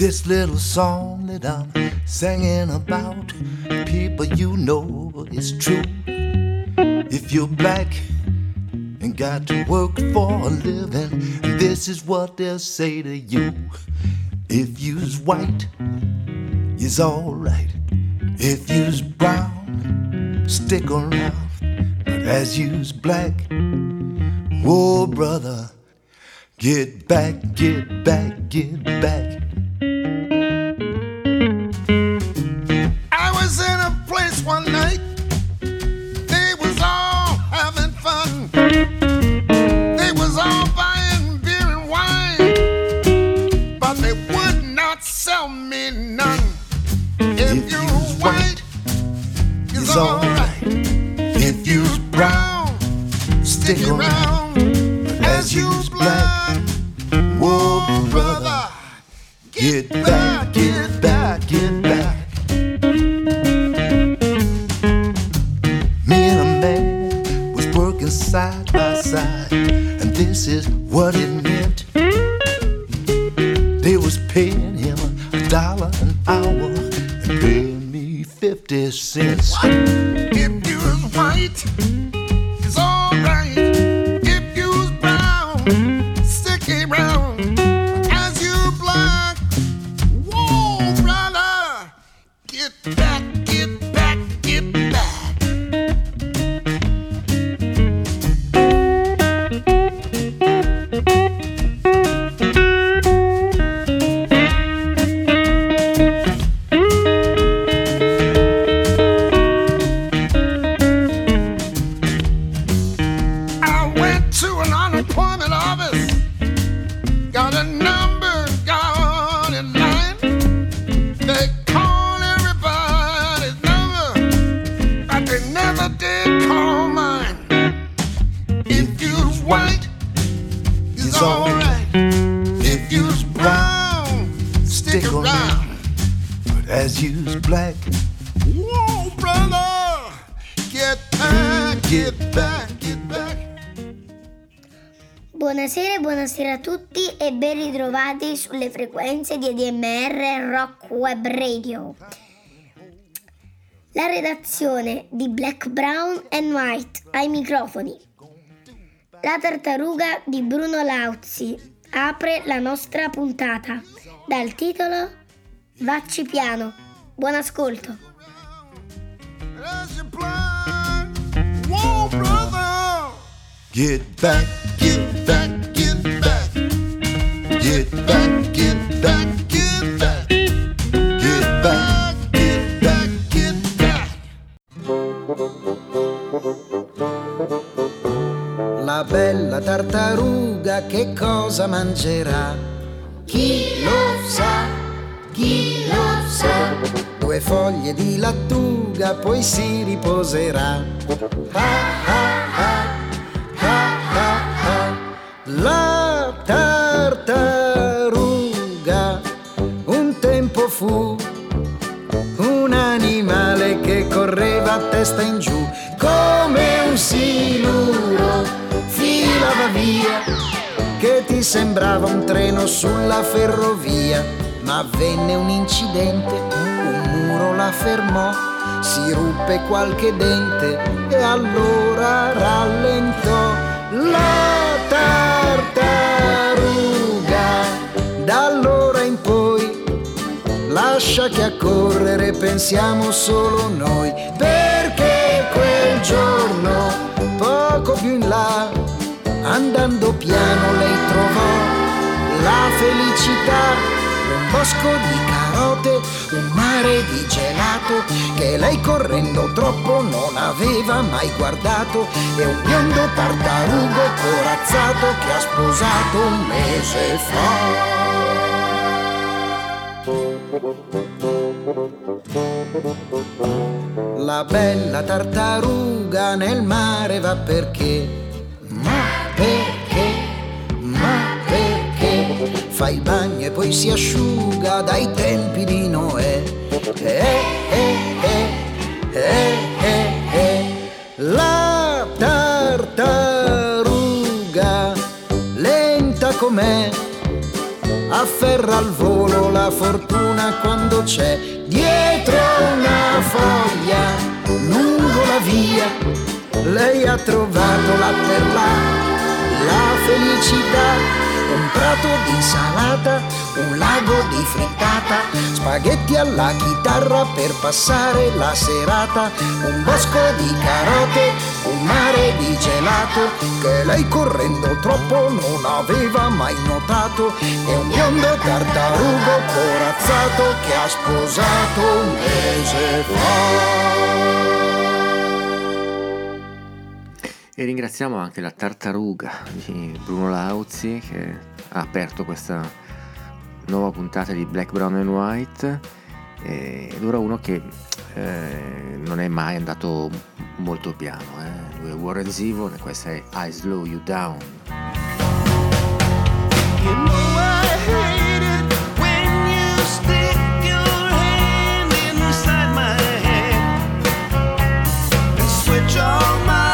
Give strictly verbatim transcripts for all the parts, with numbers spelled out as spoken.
This little song that I'm singing about, people, you know it's true. If you're black and got to work for a living, this is what they'll say to you. If you's white, you's alright. If you's brown, stick around. But as you's black, whoa brother, get back, get back, get back. I was in a place one night, they was all having fun. They was all buying beer and wine, but they would not sell me none. If, if you're white, it's alright. If you's brown, stick around. As you's black, whoa brother, get back, get back, get back. Me and a man was working side by side, and this is what it meant. They was paying him a dollar an hour and paying me fifty cents. What? If you was white, it's alright. If you was brown, stick around. As you black, whoa brother, get back, get back, get back. As you's black, whoa brother, get back, get back, get back. Buonasera e buonasera a tutti e ben ritrovati sulle frequenze di A D M R Rock Web Radio. La redazione di Black, Brown and White ai microfoni. La tartaruga di Bruno Lauzi apre la nostra puntata dal titolo Vacci piano. Buon ascolto. Get back, get back, get back. Get back, get back, get back. Get back, get back, get back. La bella tartaruga che cosa mangerà? Chi lo sa? Chi lo sa? Due foglie di lattuga, poi si riposerà. Ah, ah, ah, ah, ah, ah. La tartaruga un tempo fu un animale che correva a testa in giù, come un siluro filava via, che ti sembrava un treno sulla ferrovia. Ma avvenne un incidente, un muro la fermò, si ruppe qualche dente e allora rallentò. La tartaruga da allora in poi lascia che a correre pensiamo solo noi, perché quel giorno poco più in là, andando piano, lei trovò la felicità. Un bosco di carote, un mare di gelato che lei correndo troppo non aveva mai guardato, e un biondo tartarugo corazzato che ha sposato un mese fa. La bella tartaruga nel mare va perché? Ma perché? Ma perché? Fa il bagno e poi si asciuga dai tempi di Noè. Eh, eh, eh, eh, eh, eh. La tartaruga lenta com'è afferra al volo la fortuna quando c'è dietro una foglia lungo la via. Lei ha trovato là per là la felicità, un prato di insalata, un lago di frittata, spaghetti alla chitarra per passare la serata, un bosco di carote, un mare di gelato che lei correndo troppo non aveva mai notato, e un biondo tartarugo corazzato che ha sposato un mese fa. E ringraziamo anche la Tartaruga di Bruno Lauzi che ha aperto questa nuova puntata di Black, Brown and White, ed ora uno che eh, non è mai andato molto piano, eh. Lui è Warren Zevon e questa è I Slow You Down. You know I hate it when you stick your hand inside my head and switch all my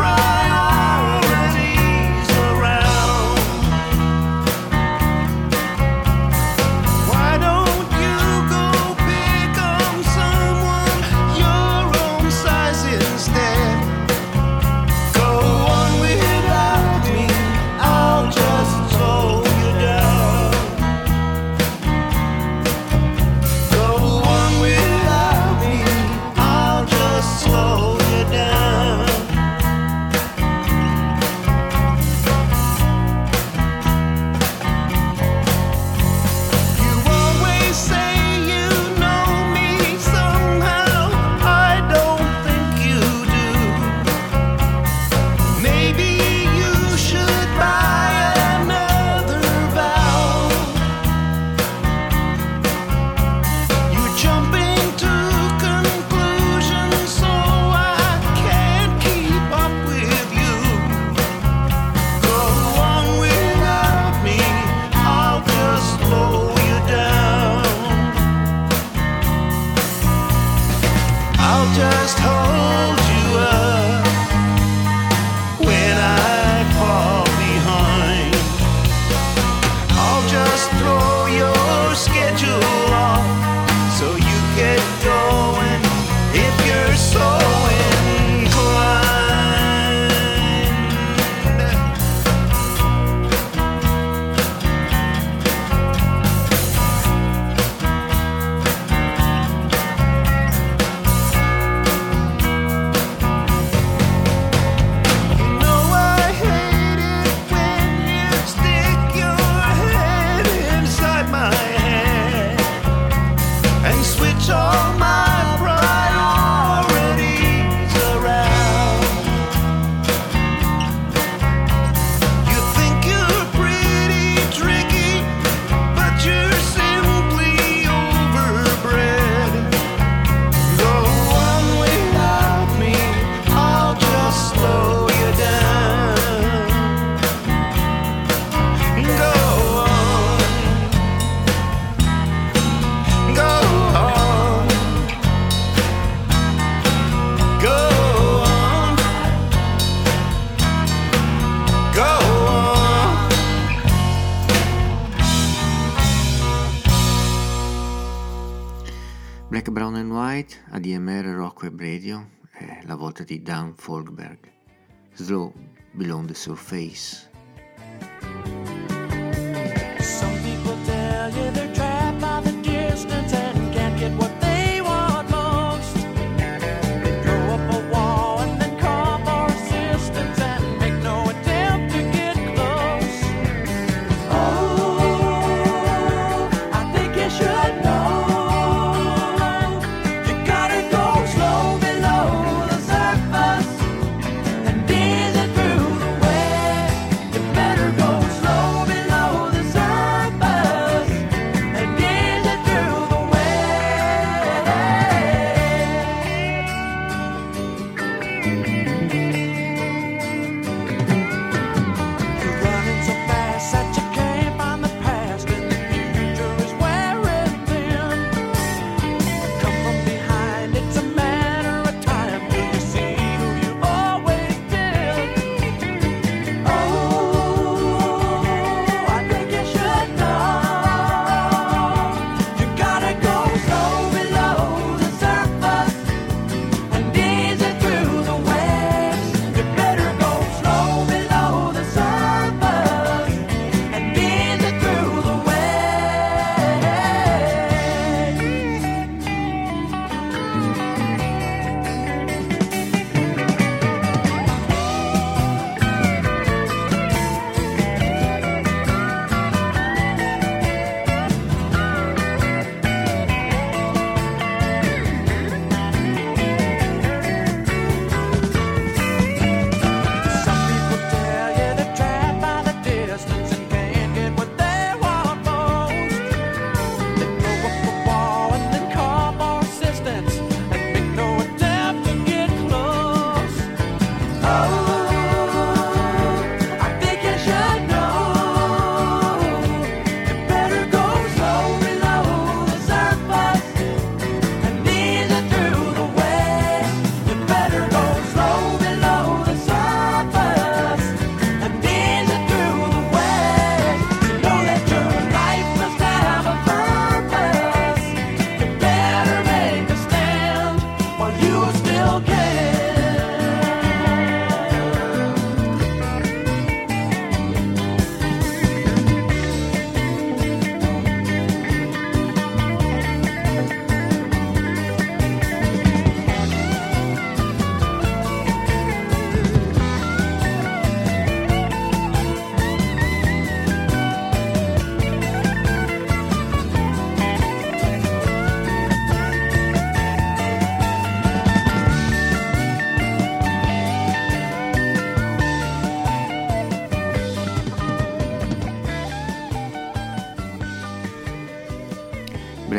Black, Brown and White, A D M R Rock Web Radio, è la volta di Dan Folkberg, Slow Below the Surface. Some people tell you they're trapped by the distance and can't get what they want most. They throw up a wall and then call for assistance and make no attempt to get close. Oh, I think you should know.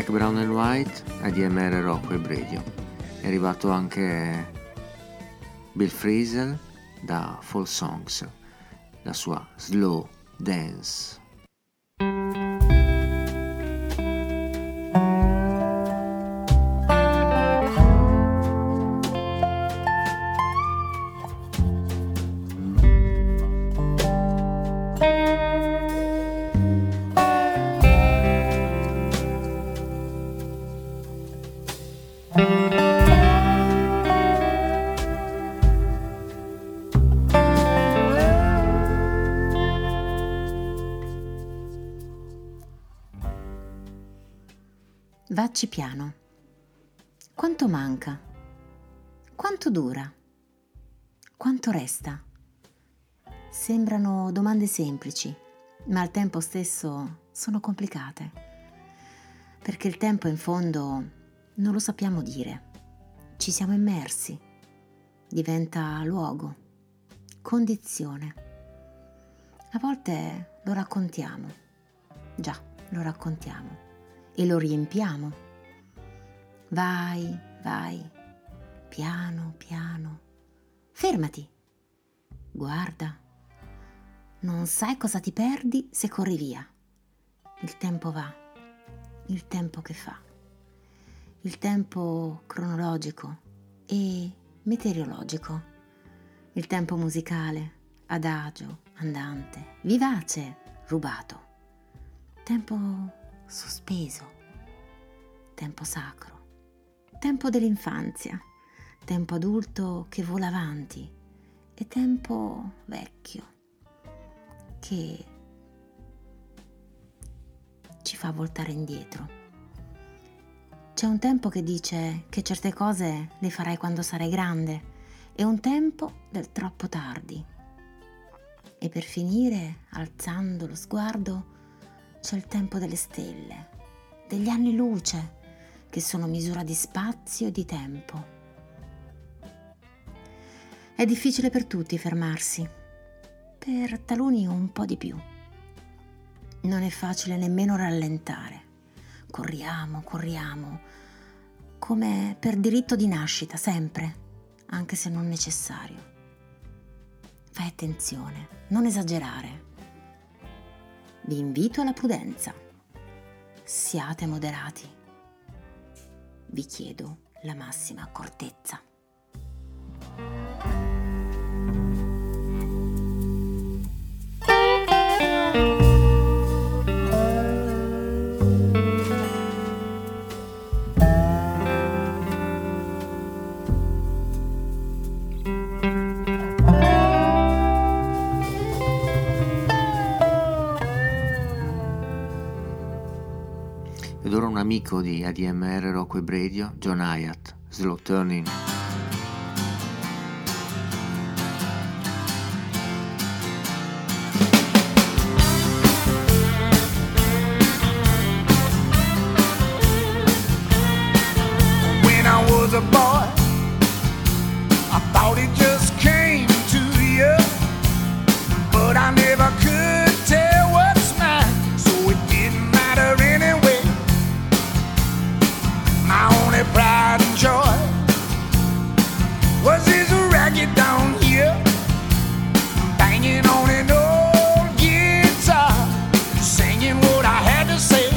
Black, Brown and White, A D M R Rockwave Radio. È arrivato anche Bill Frisell da Fall Songs, la sua Slow Dance. Vacci piano. Quanto manca? Quanto dura? Quanto resta? Sembrano domande semplici, ma al tempo stesso sono complicate, perché il tempo in fondo non lo sappiamo dire. Ci siamo immersi. Diventa luogo, condizione. A volte lo raccontiamo. Già, lo raccontiamo. E lo riempiamo. Vai, vai, piano, piano. Fermati. Guarda. Non sai cosa ti perdi se corri via. Il tempo va, il tempo che fa. Il tempo cronologico e meteorologico. Il tempo musicale, adagio, andante, vivace, rubato. Tempo sospeso, tempo sacro, tempo dell'infanzia, tempo adulto che vola avanti e tempo vecchio che ci fa voltare indietro. C'è un tempo che dice che certe cose le farai quando sarai grande e un tempo del troppo tardi. E per finire, alzando lo sguardo, c'è il tempo delle stelle, degli anni luce, che sono misura di spazio e di tempo. È difficile per tutti fermarsi, per taluni un po' di più. Non è facile nemmeno rallentare. Corriamo, corriamo, come per diritto di nascita, sempre, anche se non necessario. Fai attenzione, non esagerare. Vi invito alla prudenza. Siate moderati. Vi chiedo la massima accortezza. Ed ora un amico di A D M R Rockwave Radio, John Hyatt, Slow Turning. When I was a boy, I thought it just came to you, but I never could tell what's mine, so it didn't matter anyway. My only pride and joy was this racket down here, banging on an old guitar, singing what I had to say.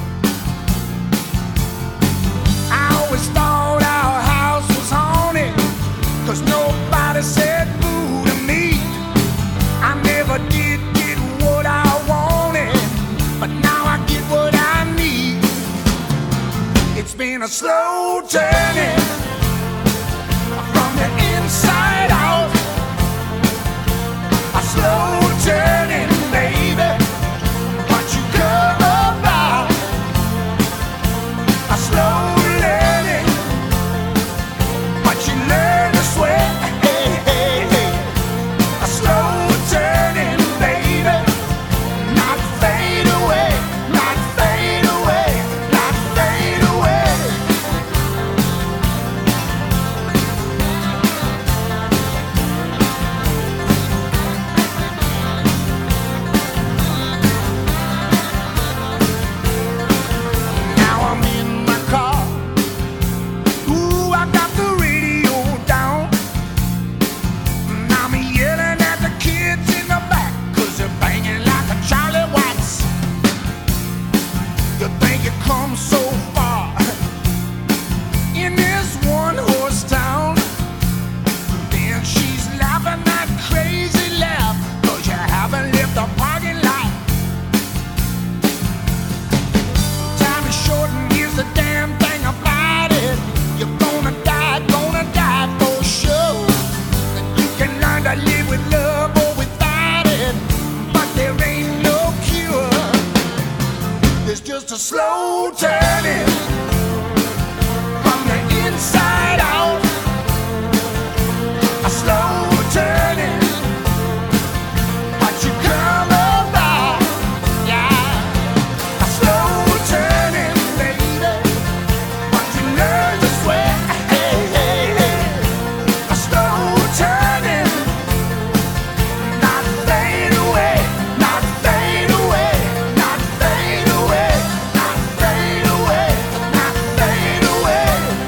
I always thought our house was haunted, 'cause nobody said boo to me. I never did get what I wanted, but now I get what I need. It's been a slow turning from the inside out, a slow turning, baby, what you come about, a slow learning, what you learn to sweat, hey, hey, hey. A slow turning, baby, not fade away, not fade away, not fade away. Gotta live with love or without it, but there ain't no cure. It's just a slow turning from the inside out. A slow turning, but you come about, yeah. A slow turning, baby, but you learn to sweat. Hey, hey, hey. A slow turning, not fade away, not fade away, not fade away, not fade away, not fade away.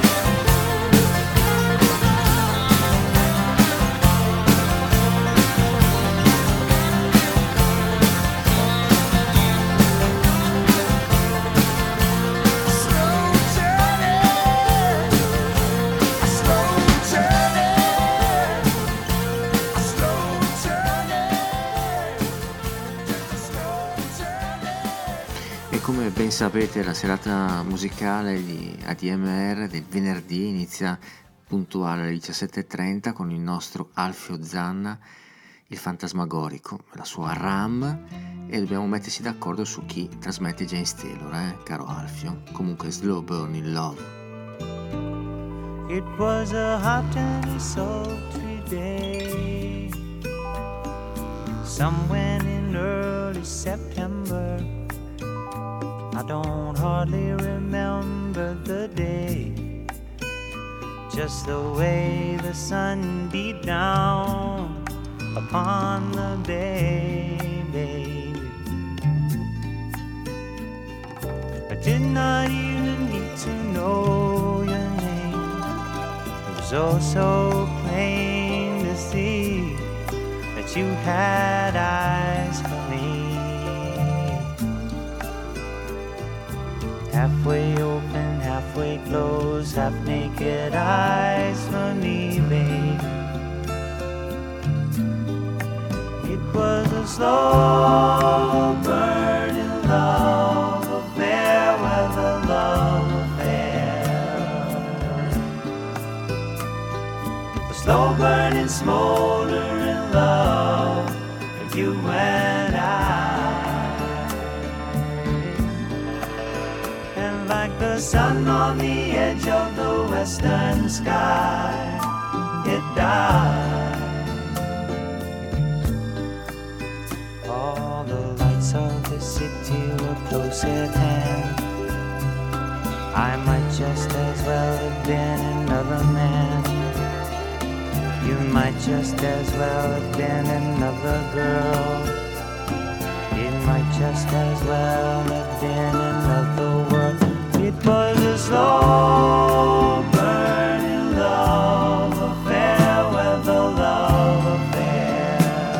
Slow turning, a slow turning, a slow turning, just a slow turning. E come ben sapete, la serata musicale di A D M R del venerdì inizia puntuale alle diciassette e trenta con il nostro Alfio Zanna, il fantasmagorico, la sua RAM, e dobbiamo mettersi d'accordo su chi trasmette James Taylor, eh, caro Alfio. Comunque Slow Burning Love. It was a hot and sultry day, somewhere in early September. I don't hardly remember the day, just the way the sun beat down upon the bay, baby. I did not even need to know your name. It was oh so plain to see that you had eyes for me. Halfway open, halfway closed, half naked eyes for me, babe. It was a slow burning love affair, with a love affair. A slow burning, smoldering love for you and I. And like the sun on the edge of the western sky, it died. All the lights of the city were close at hand. I might just as well have been another man. You might just as well have been another girl. It might just as well have been another world. It was a slow burning love affair, with a love affair.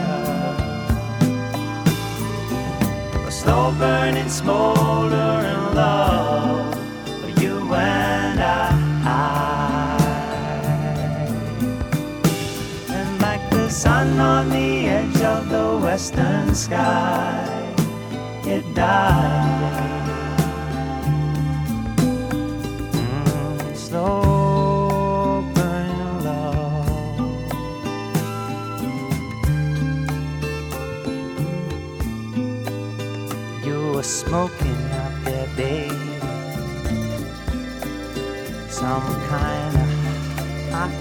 A slow burning, smoldering love for you and I. And like the sun on the edge of the western sky, it died. Mm, slow burning love. You were smoking out there, baby, some kind of hot.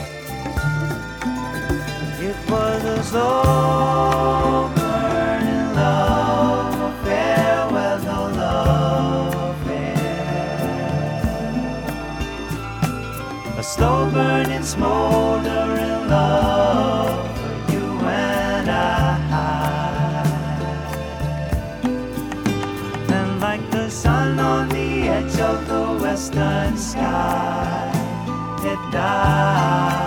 It was a slow burning love affair, with a love affair. A slow burning, smoldering love for you and I. And like the sun on the edge of the western sky, it died.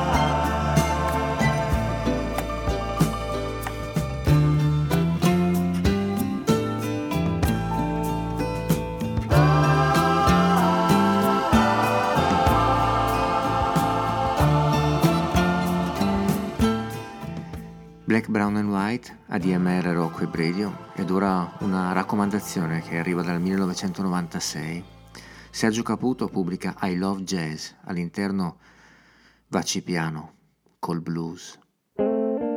Black, Brown and White, A D M R Rock Web Radio, ed ora una raccomandazione che arriva dal millenovecentonovantasei. Sergio Caputo pubblica I Love Jazz, all'interno Vacci piano col blues.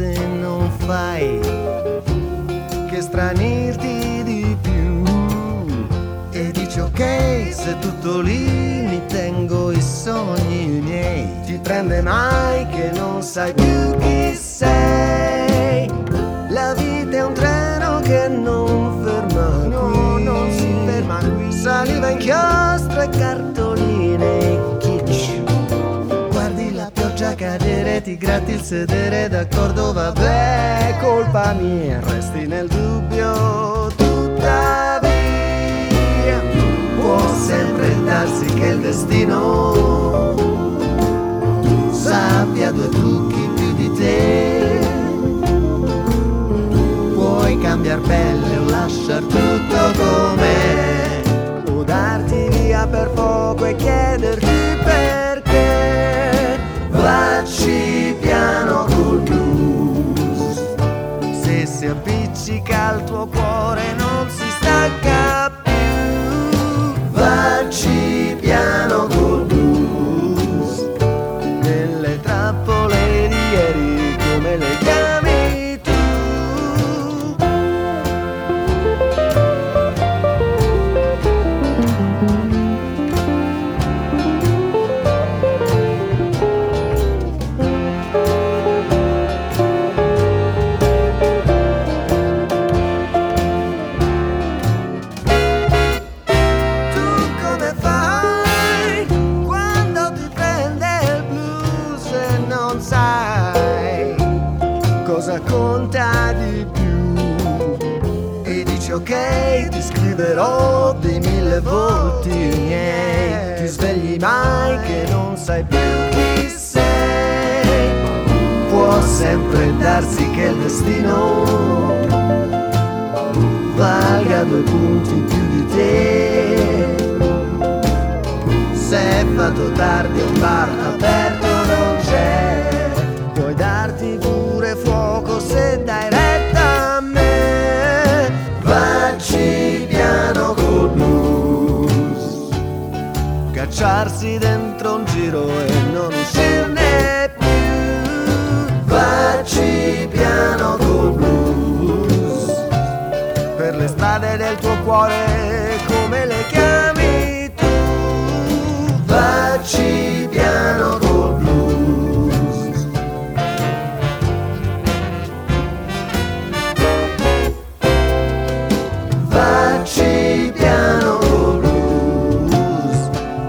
se non fai che stranirti di più. E dici ok, se tutto lì mi tengo i sogni miei. Ti prende mai che non sai più chi sei. La vita è un treno che non ferma qui. No, non si ferma qui. Saliva, inchiostro e cartoline e kitsch. Guardi la pioggia cadere, ti gratti il sedere, d'accordo, vabbè, colpa mia. Resti nel dubbio, tuttavia può sempre darsi che il destino sappia due trucchi più di te. Puoi cambiar pelle o lasciar tutto com'è, o darti via per poco e chiederti perché. Vacci piano col blues, se si appiccica al tuo cuore non si stacca più. Vacci piano col blues, nelle trappole di ieri come le chiami tu. Conta di più e dici ok, ti scriverò dei mille volti miei. Ti svegli mai che non sai più chi sei. Può sempre darsi che il destino valga due punti più di te. Se è fatto tardi un bar aperto non c'è, puoi darti pure fuoco se dai retta a me. Vacci piano col blues, cacciarsi dentro un giro e non uscirne più. Vacci piano col blues, per le strade del tuo cuore come le chiami tu. Vacci piano col blues. Vacci piano col blues.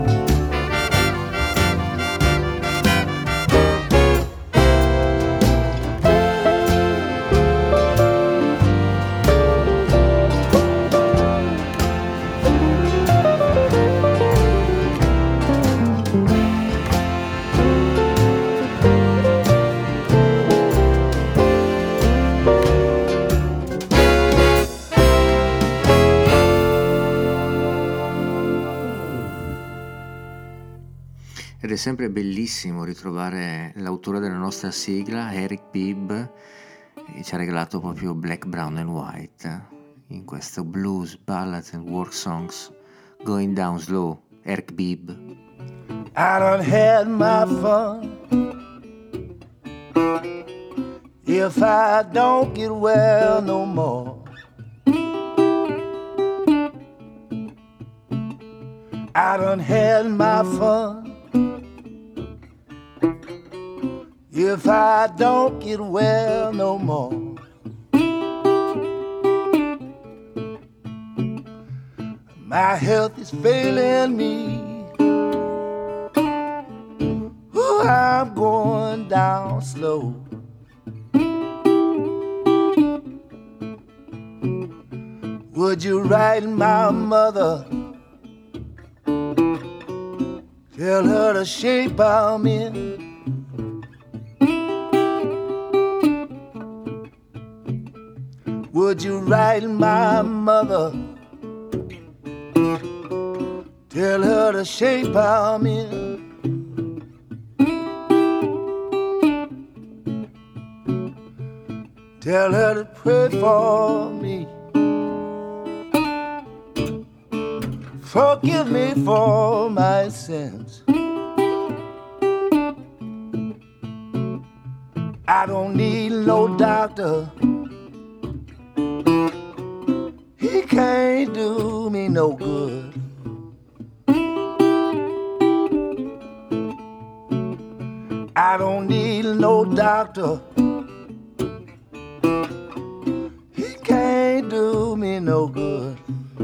Ed è sempre bellissimo ritrovare l'autore della nostra sigla, Eric Bibb, che ci ha regalato proprio Black, Brown and White in questo blues, ballads and work songs, Going Down Slow. Eric Bibb. I done had my fun. If I don't get well no more, I done had my fun. If I don't get well no more, my health is failing me. Ooh, I'm going down slow. Would you write my mother? Tell her the shape I'm in. Would you write my mother? Tell her the shape I'm in. Tell her to pray for me. Forgive me for my sins. I don't need no doctor. He can't do me no good. I don't need no doctor. He can't do me no good.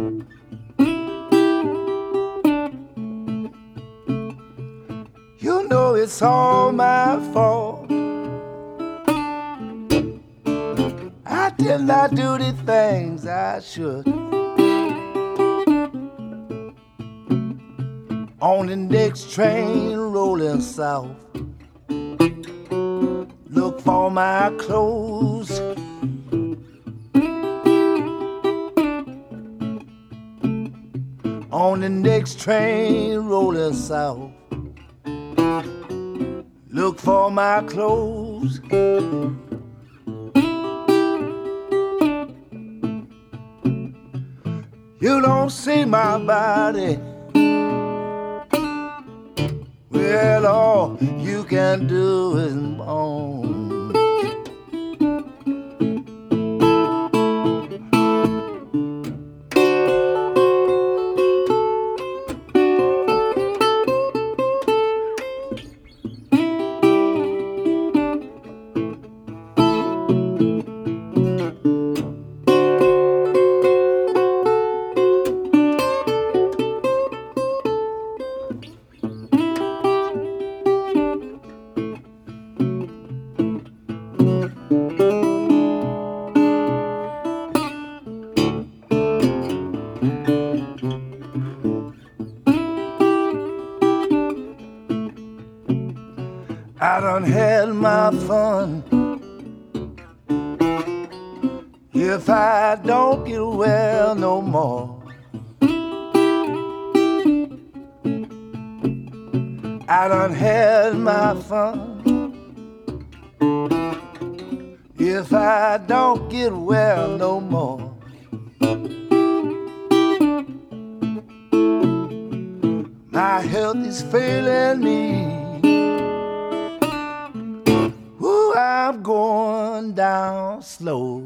You know it's all my fault. I did not do the things I should. On the next train rolling south, look for my clothes. On the next train rolling south, look for my clothes. You don't see my body. Well, all you can do is moan. I done had my fun. If I don't get well no more, I done had my fun. If I don't get well no more, my health is failing me. Ooh, I'm going down slow.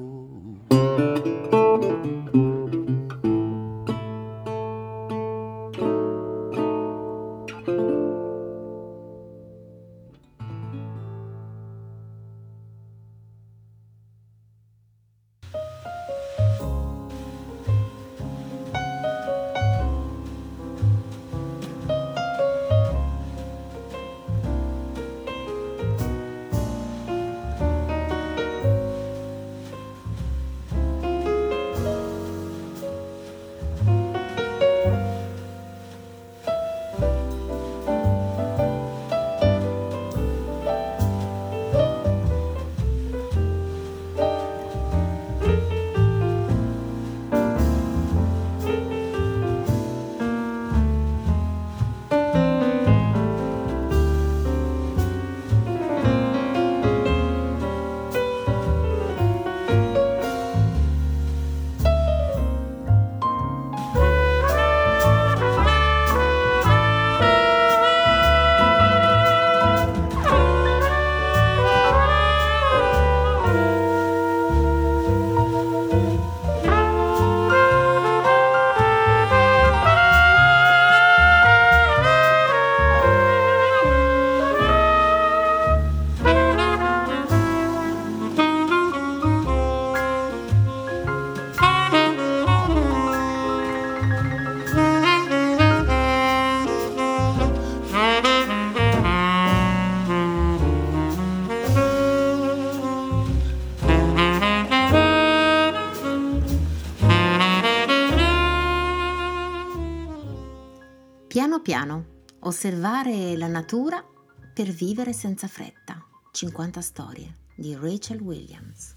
Piano piano, osservare la natura per vivere senza fretta. cinquanta storie di Rachel Williams.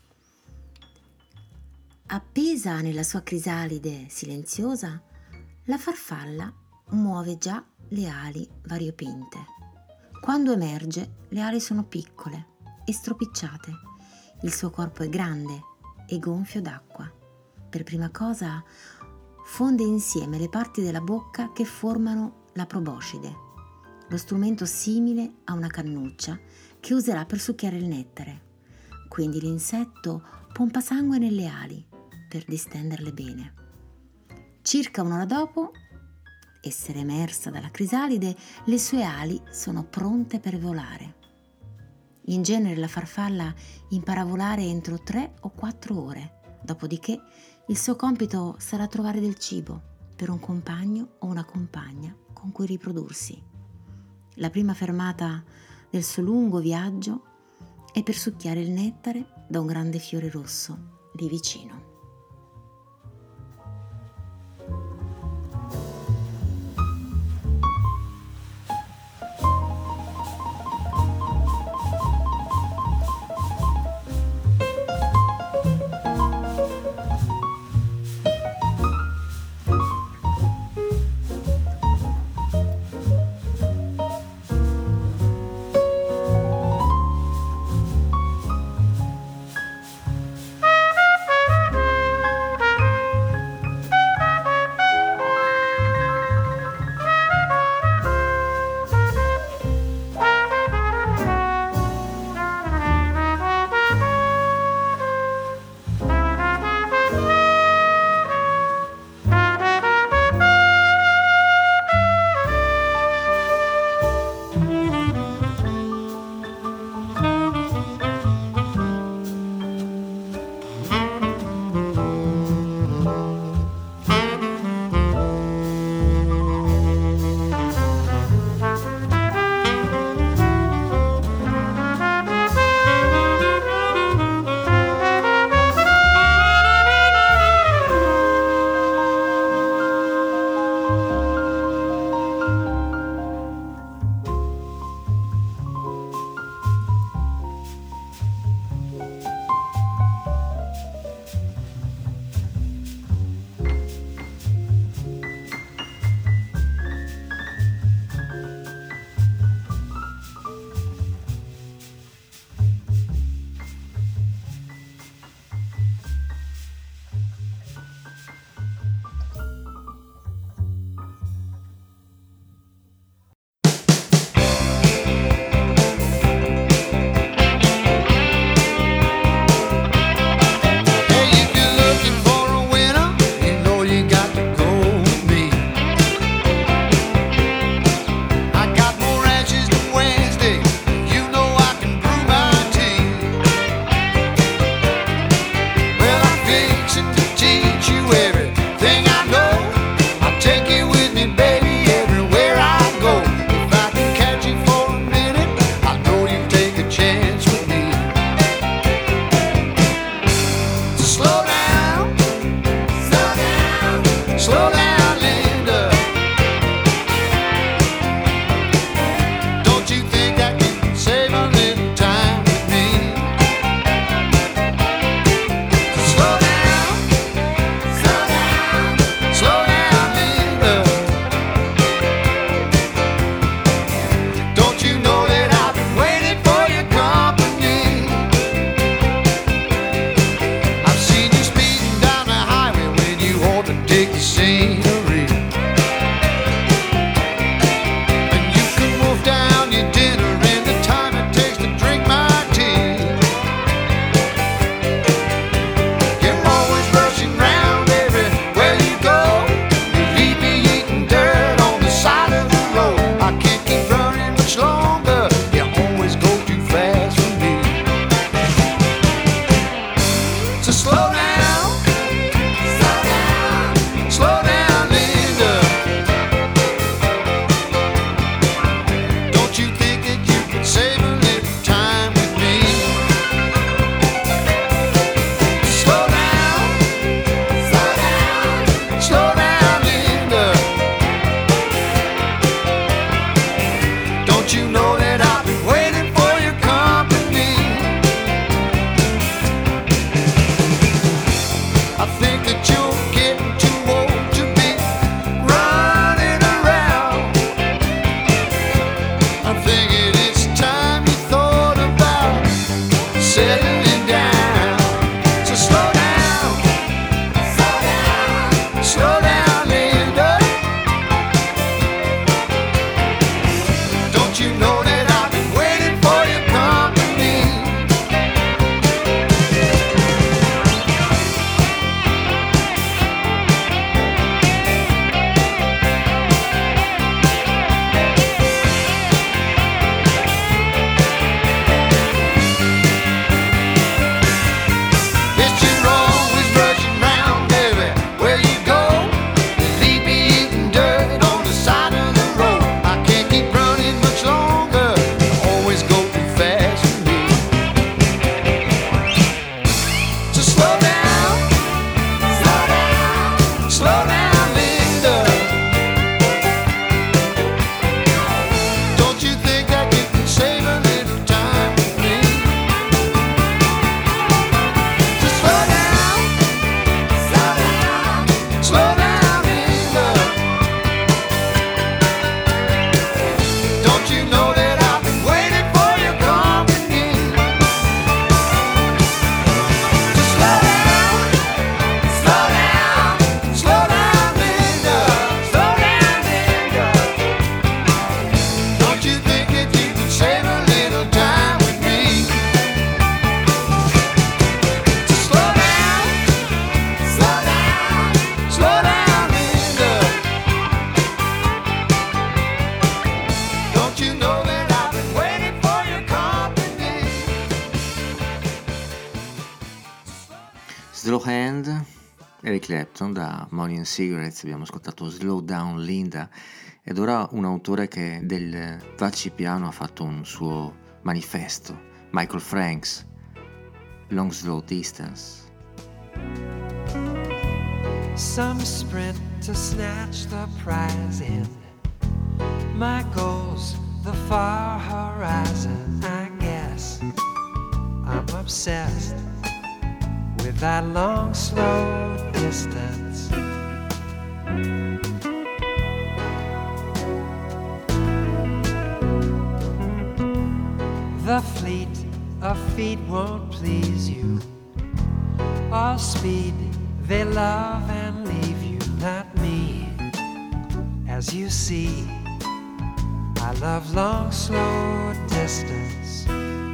Appesa nella sua crisalide silenziosa, la farfalla muove già le ali variopinte. Quando emerge, le ali sono piccole e stropicciate. Il suo corpo è grande e gonfio d'acqua. Per prima cosa fonde insieme le parti della bocca che formano la proboscide, lo strumento simile a una cannuccia che userà per succhiare il nettare. Quindi l'insetto pompa sangue nelle ali per distenderle bene. Circa un'ora dopo essere emersa dalla crisalide, le sue ali sono pronte per volare. In genere la farfalla impara a volare entro tre o quattro ore, dopodiché il suo compito sarà trovare del cibo per un compagno o una compagna con cui riprodursi. La prima fermata del suo lungo viaggio è per succhiare il nettare da un grande fiore rosso lì vicino. Slow Hand, Eric Clapton, da Money and Cigarettes abbiamo ascoltato Slow Down Linda, ed ora un autore che del Vacci Piano ha fatto un suo manifesto, Michael Franks, Long Slow Distance. Some sprint to snatch the prize in. My goal's the far horizon, I guess. I'm obsessed with that long, slow distance. The fleet of feet won't please you. All speed they love and leave you, not me. As you see, I love long, slow distance.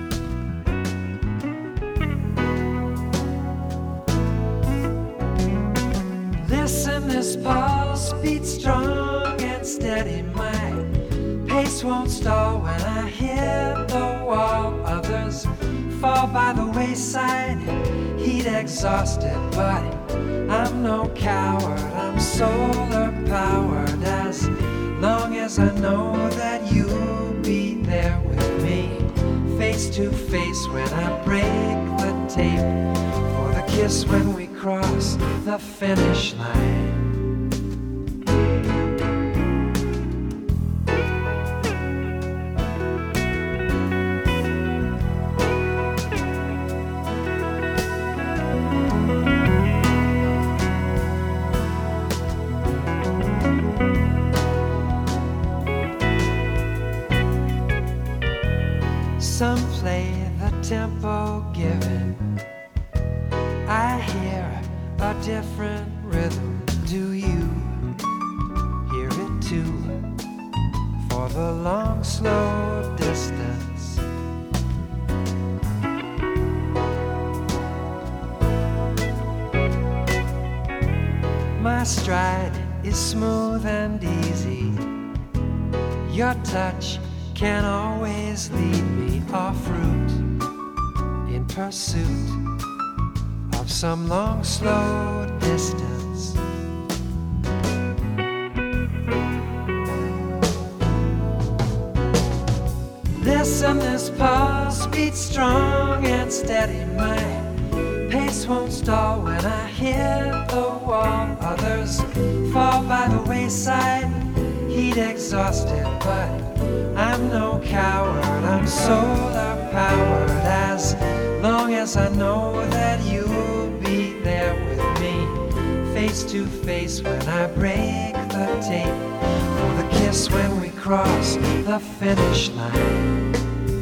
Listen, this pulse beats strong and steady. My pace won't stall when I hit the wall. Others fall by the wayside, heat exhausted, but I'm no coward, I'm solar powered. As long as I know that you'll be there with me, face to face when I break the tape, for the kiss when we cross the finish line. Some play the tempo given. I hear a different rhythm. Do you hear it too? For the long, slow distance. My stride is smooth and easy. Your touch can always lead me off route in pursuit of some long, slow distance. Listen, this pulse beats strong and steady. My pace won't stall when I hit the wall. Others fall by the wayside, heat exhausted, but I'm no coward, I'm solar powered. As long as I know that you'll be there with me, face to face when I break the tape, for the kiss when we cross the finish line.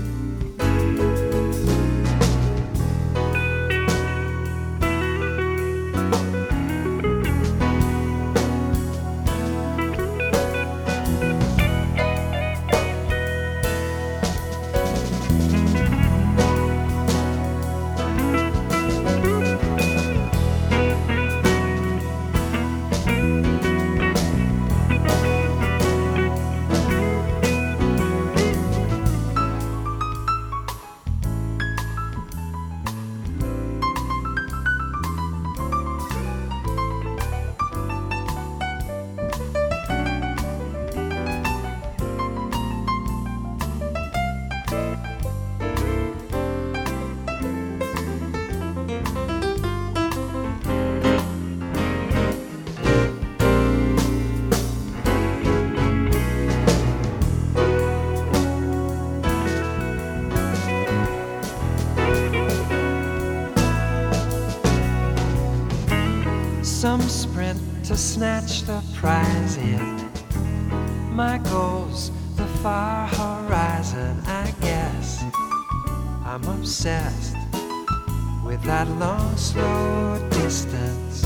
Some sprint to snatch the prize in. My goal's the far horizon, I guess. I'm obsessed with that long, slow distance.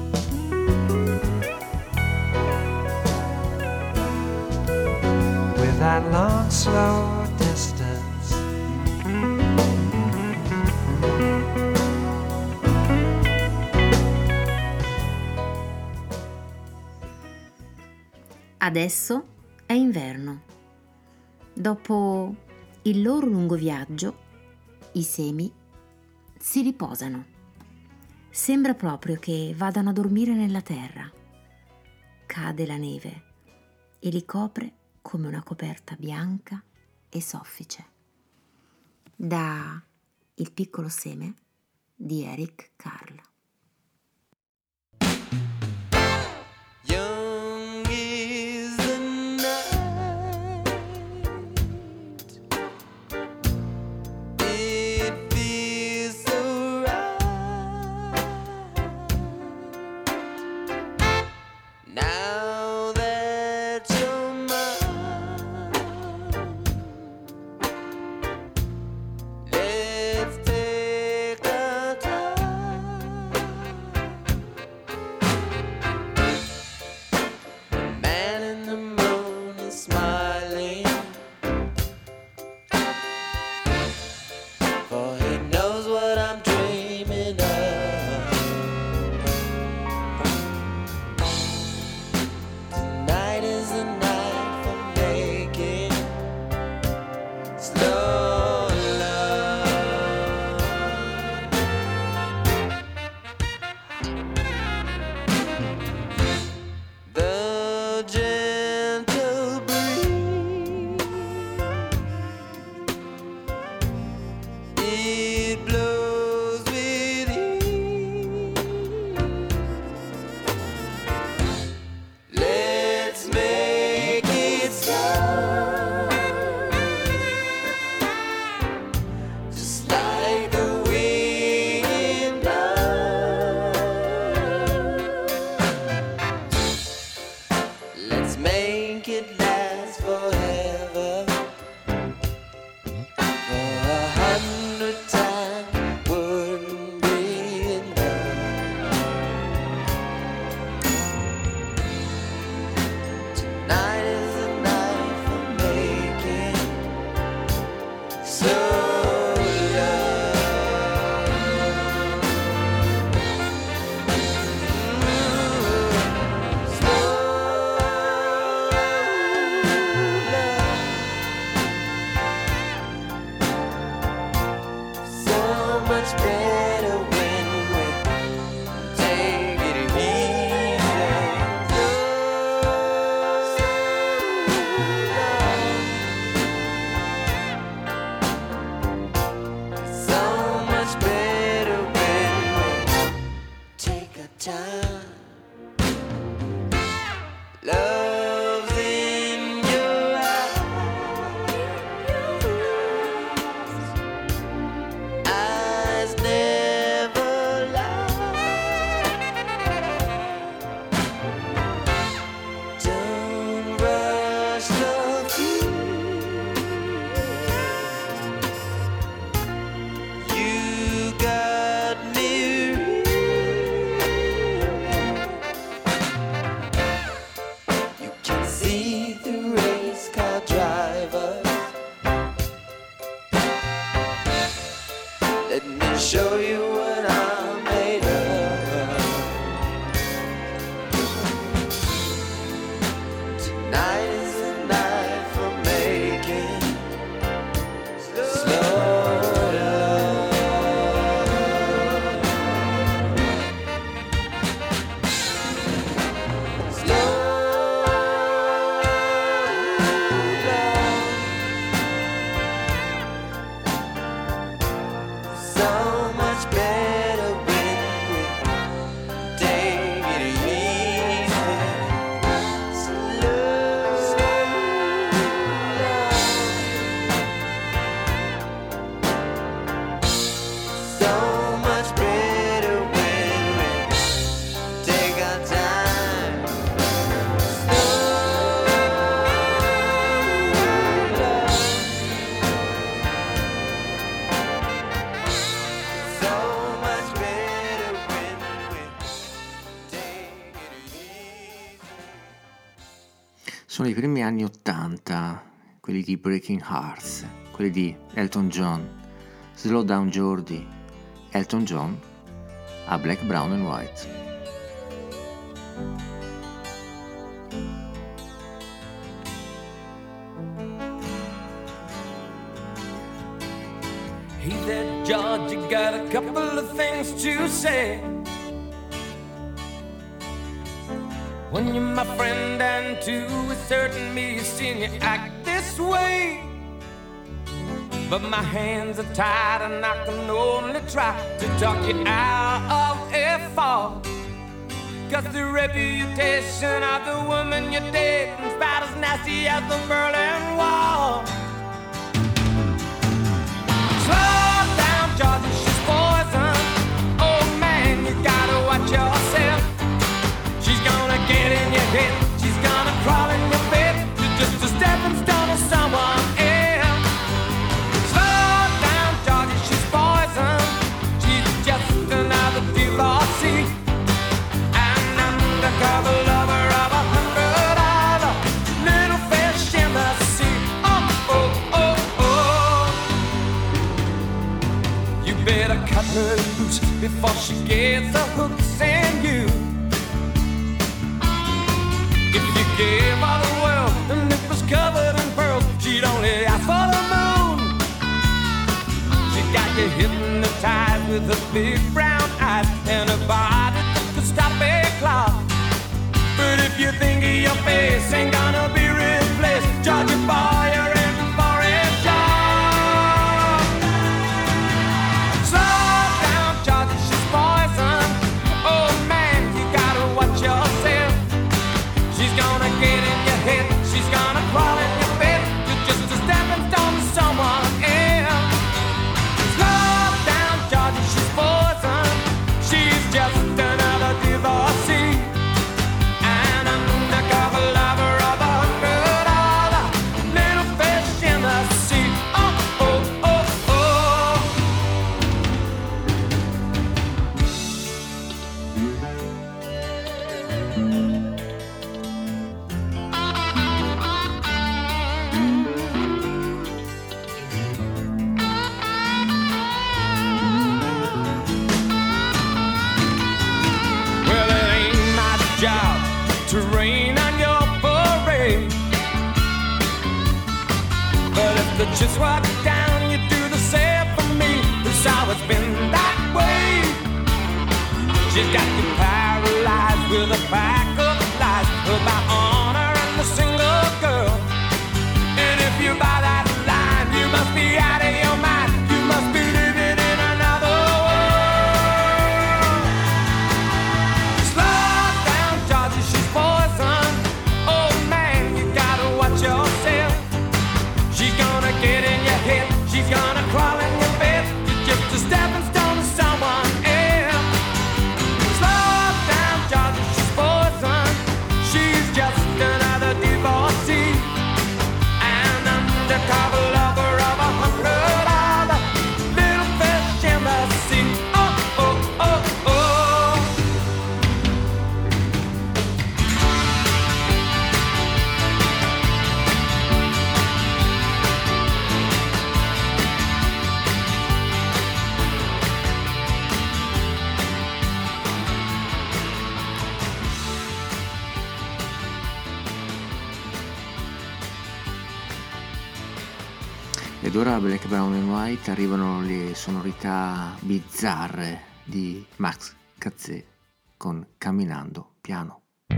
With that long, slow distance. Adesso è inverno. Dopo il loro lungo viaggio, i semi si riposano Sembra proprio che vadano a dormire nella terra. Cade la neve e li copre come una coperta bianca e soffice. Da Il piccolo seme di Eric Carle. Young is the night, it feels so right. Now that you're mine, let's take our time. Man in the moon is smiling, for he knows what I'm dreaming of. Tonight is the night for making slow love. The gentle breeze, it blows with ease. Let's make it stop, just like the wind blows. Let's make it last forever. For a hundred times wouldn't be enough. Tonight is the night for making slow love. So much better when we take it easy. So much better when we take our time. Love's in your eyes, eyes never lie. Don't rush the feet. You got me real. You can see the race car drivers. Let me show you what I'm made of. Tonight is the night for making slow love. Slow love. So much better when we take it easy. Slow love. So much better when we take our time. Slow love. So much better when we take it easy. Sono i primi anni ottanta, quelli di Breaking Hearts, quelli di Elton John. Slow Down Geordie, Elton John a Black, Brown and White. He that George, you got a couple of things to say. When you're my friend and to a certain me, seen you act this way. But my hands are tied and I can only try to talk you out of a fall. Cause the reputation of the woman you're dating's about as nasty as the Berlin Wall. Slow down, Georgie, she's poison. Oh man, you gotta watch yourself. She's gonna get in your head, she's gonna crawl in your bed. You're just a stepping stone to someone else. Slow down, Georgie, she's poison. She's just another divorcee. Undercover lover of a hundred dollar little fish in the sea. Oh, oh, oh, oh. You better cut her loose before she gets the hooks in you. If you gave her the world and it was covered in pearls, she'd only ask for the moon. She got you hypnotized with her big brown eyes and her body that could stop a clock. But if you think your face ain't gonna be replaced, Georgia boy, you're in for a shock. Slow down, Georgia, she's poison. Oh man, you gotta watch yourself. She's gonna get in your head, she's gonna crawl in your bed. You're just a stepping stone to someone else. Slow down, Georgia, she's poison. She's just another divorcee. To rain on your parade. But if the chips walk down, you do the same for me. It's always been that way. She's got you paralyzed with a pack of lies about honor and the single girl. And if you buy that line, you must be out of your mind. You must be living in another world. Slow down, Georgie, she's poison. Oh man, you gotta watch yourself. She's gonna get in your head, she's gonna crawl in your bed. You're just a stepping stone to someone else. Slow down, Georgie, she's poison. She's just another divorcee. An undercover lover of a hundred other little fish in the sea. Oh, oh, oh, oh. Ed ora a Black, Brown and White arrivano le sonorità bizzarre di Max Cazzè con Camminando Piano.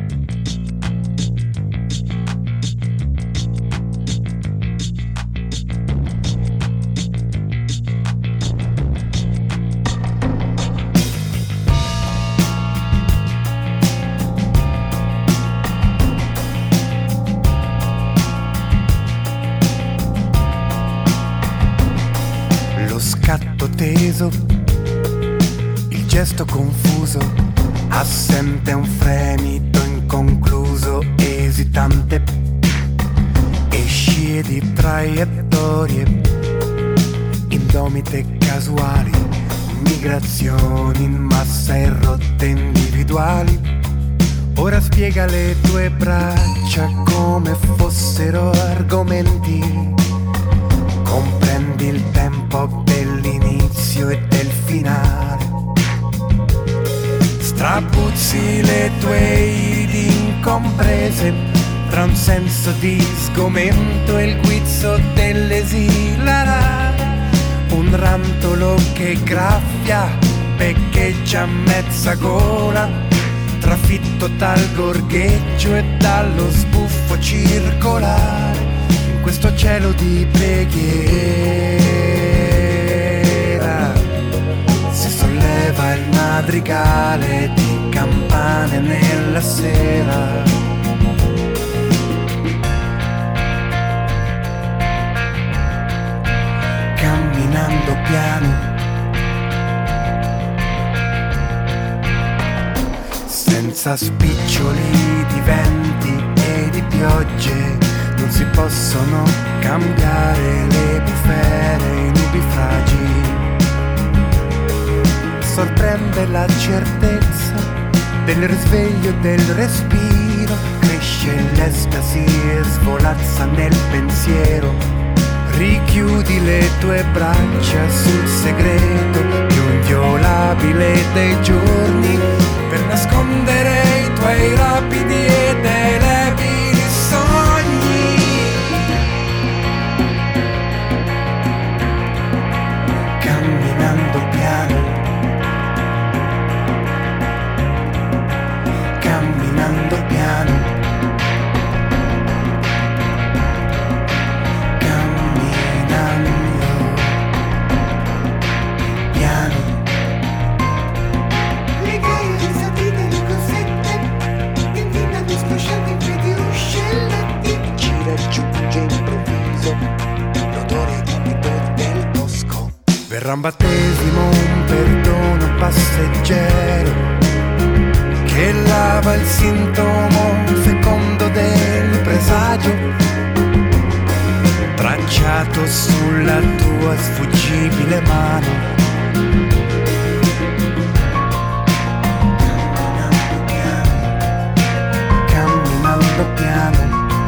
Lo scatto teso, il gesto confuso, assente un fremito inconcluso, esitante, e scie di traiettorie, indomite casuali, migrazioni in massa e rotte individuali. Ora spiega le tue braccia come fossero argomenti. Comprendi il tempo dell'inizio e del finale. Strapuzzi le tue iridi incomprese tra un senso di sgomento e il guizzo dell'esilarare. un rantolo che graffia, beccheggia a mezza gola, trafitto dal gorgheggio e dallo sbuffo circolare, in questo cielo di preghiera si solleva il madrigale di campane nella sera. Camminando piano, senza spiccioli di venti e di piogge, non si possono cambiare le bufere in nubifragi. Sorprende la certezza del risveglio del respiro, cresce l'estasi e svolazza nel pensiero. Richiudi le tue braccia sul segreto più inviolabile dei giorni, per nascondere i tuoi rapidi ed elevili sogni. Camminando piano, camminando piano, verrà un battesimo, un perdono passeggero che lava il sintomo fecondo del presagio tracciato sulla tua sfuggibile mano. Camminando piano,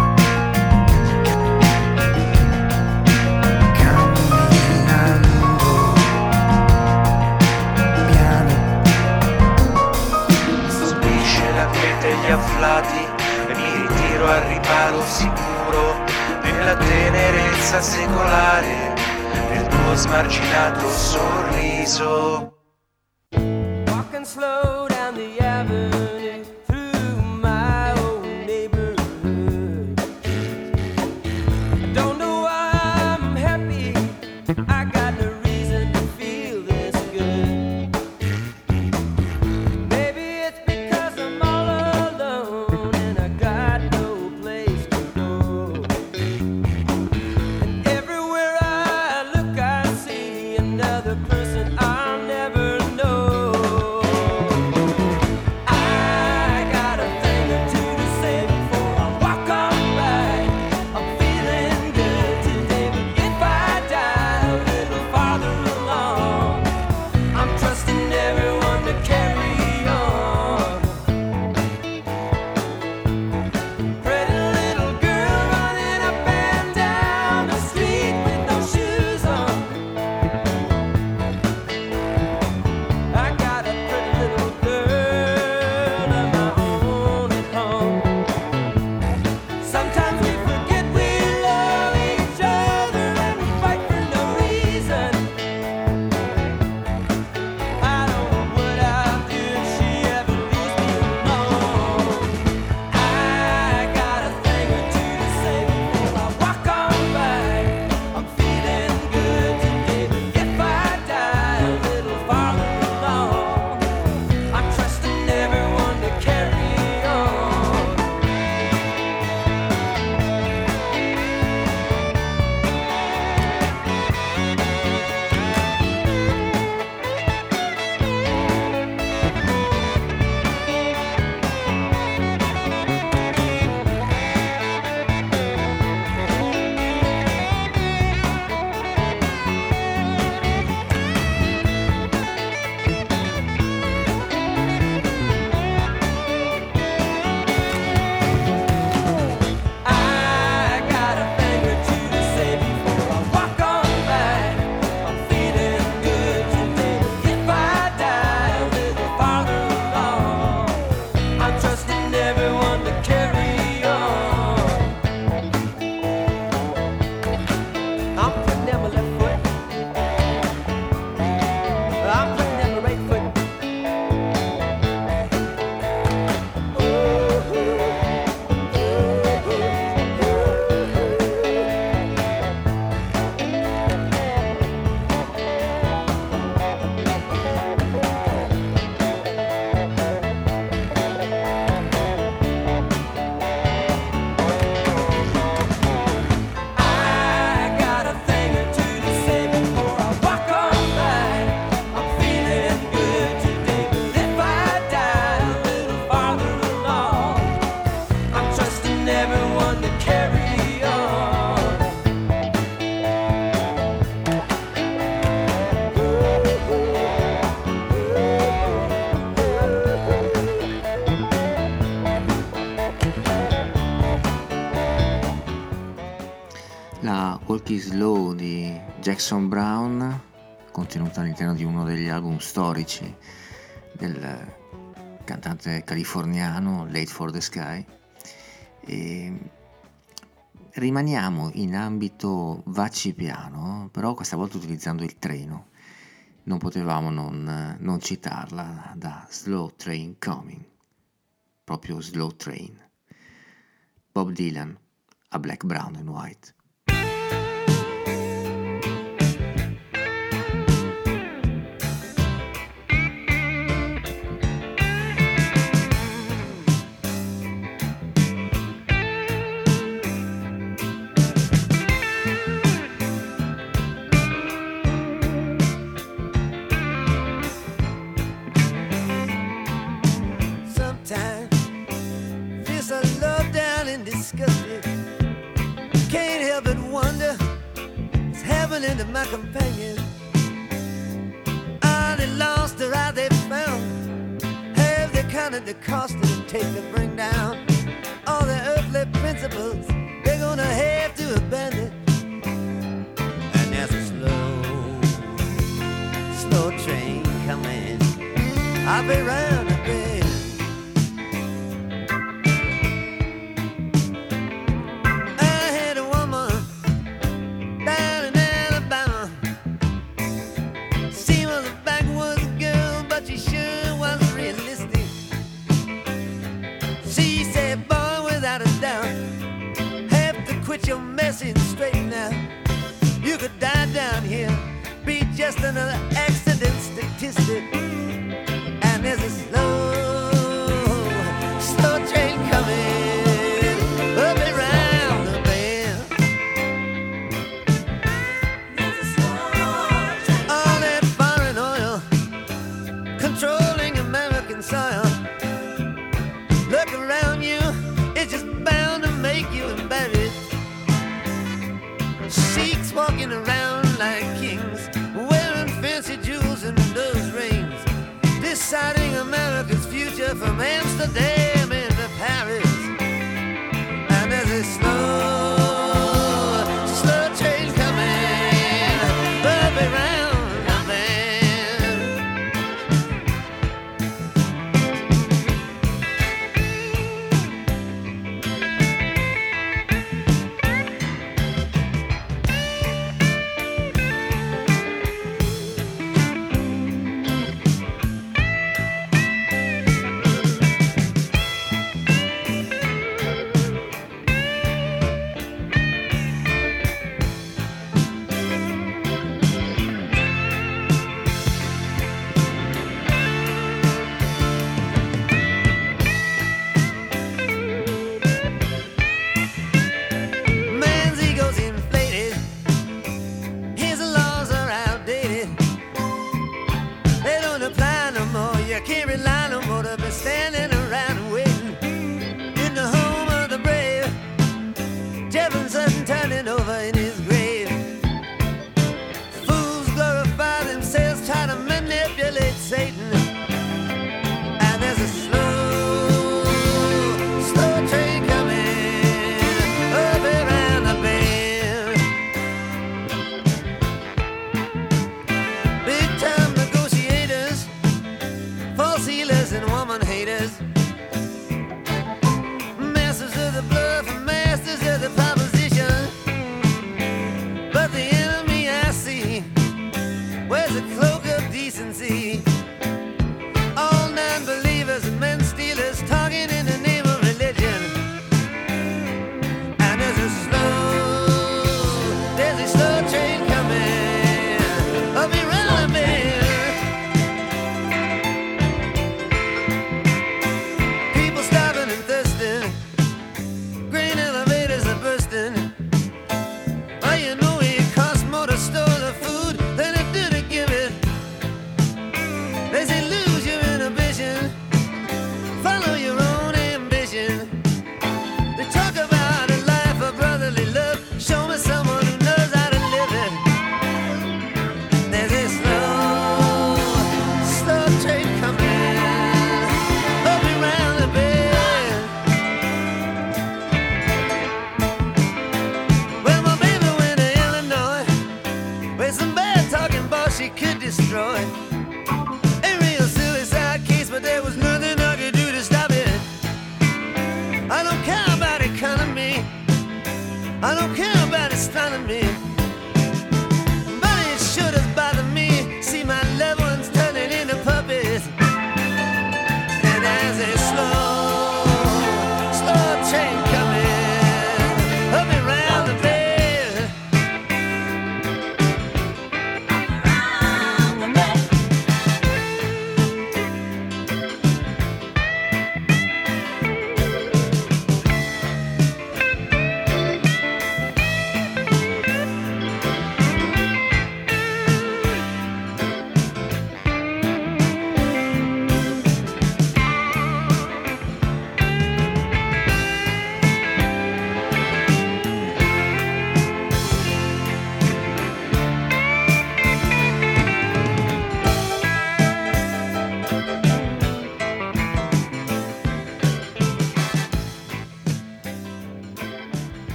gli afflati e mi ritiro al riparo sicuro nella tenerezza secolare del tuo smarginato sorriso. Walking slow down the avenue through my old neighborhood. I don't know why I'm happy, I got no reason to feel this good. Maybe it's because I'm all alone and I got no place to go. And everywhere I look I see another person I'll never know. I Take It Slow di Jackson Browne, contenuta all'interno di uno degli album storici del cantante californiano Late for the Sky. E rimaniamo in ambito vaccipiano, però questa volta utilizzando il treno. Non potevamo non, non citarla, da Slow Train Coming, proprio Slow Train. Bob Dylan a Black, Brown and White. Into my companion, are they lost or are they found? Have they counted the cost it'll take to bring down all the earthly principles they're gonna have to abandon? And there's a slow, slow train coming. I'll be round the bend. Your messing straight now. You could die down here, be just another accident statistic. And there's a slow, slow train coming up around the bend. All that foreign oil controlling American soil. Look around you, it's just bound to make you embarrassed. Sheiks walking around like kings, wearing fancy jewels and those rings, deciding America's future from Amsterdam into Paris. And there's a slow, slow train coming up around the bend.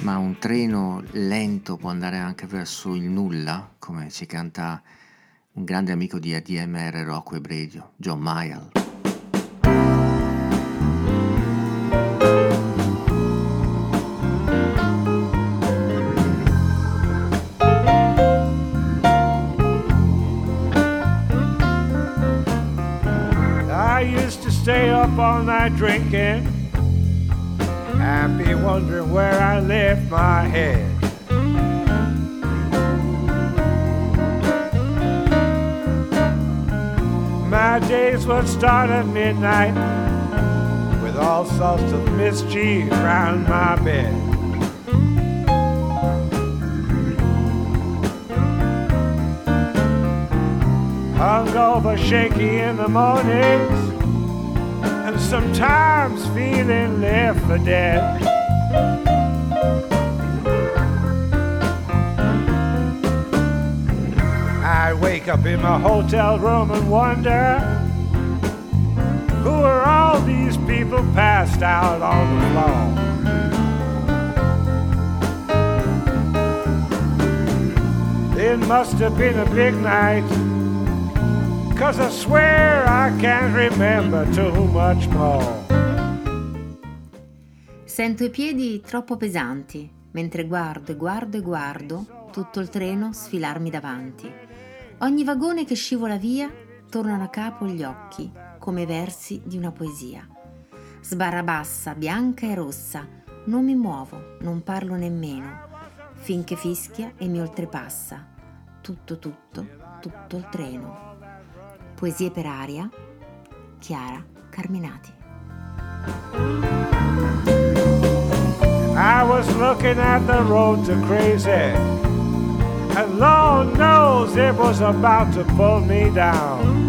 Ma un treno lento può andare anche verso il nulla, come ci canta un grande amico di A D M R Rock Web Radio, John Mayall. I used to stay up all night drinking, happy wondering where I left my head. My days would start at midnight with all sorts of mischief round my bed. Hungover, shaky in the mornings, and sometimes feeling left for dead. I wake up in my hotel room and wonder, who are all these people passed out on the floor? It must have been a big night, 'cause I swear I can't remember too much more. Sento i piedi troppo pesanti, mentre guardo e guardo e guardo tutto il treno sfilarmi davanti. Ogni vagone che scivola via tornano a capo gli occhi, come versi di una poesia. Sbarra bassa, bianca e rossa, non mi muovo, non parlo nemmeno, finché fischia e mi oltrepassa. Tutto, tutto, tutto il treno. Poesie per aria, Chiara Carminati. I was looking at the road to crazy, and Lord knows it was about to pull me down.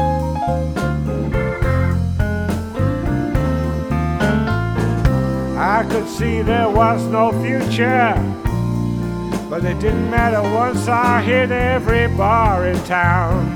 I could see there was no future, but it didn't matter once I hit every bar in town.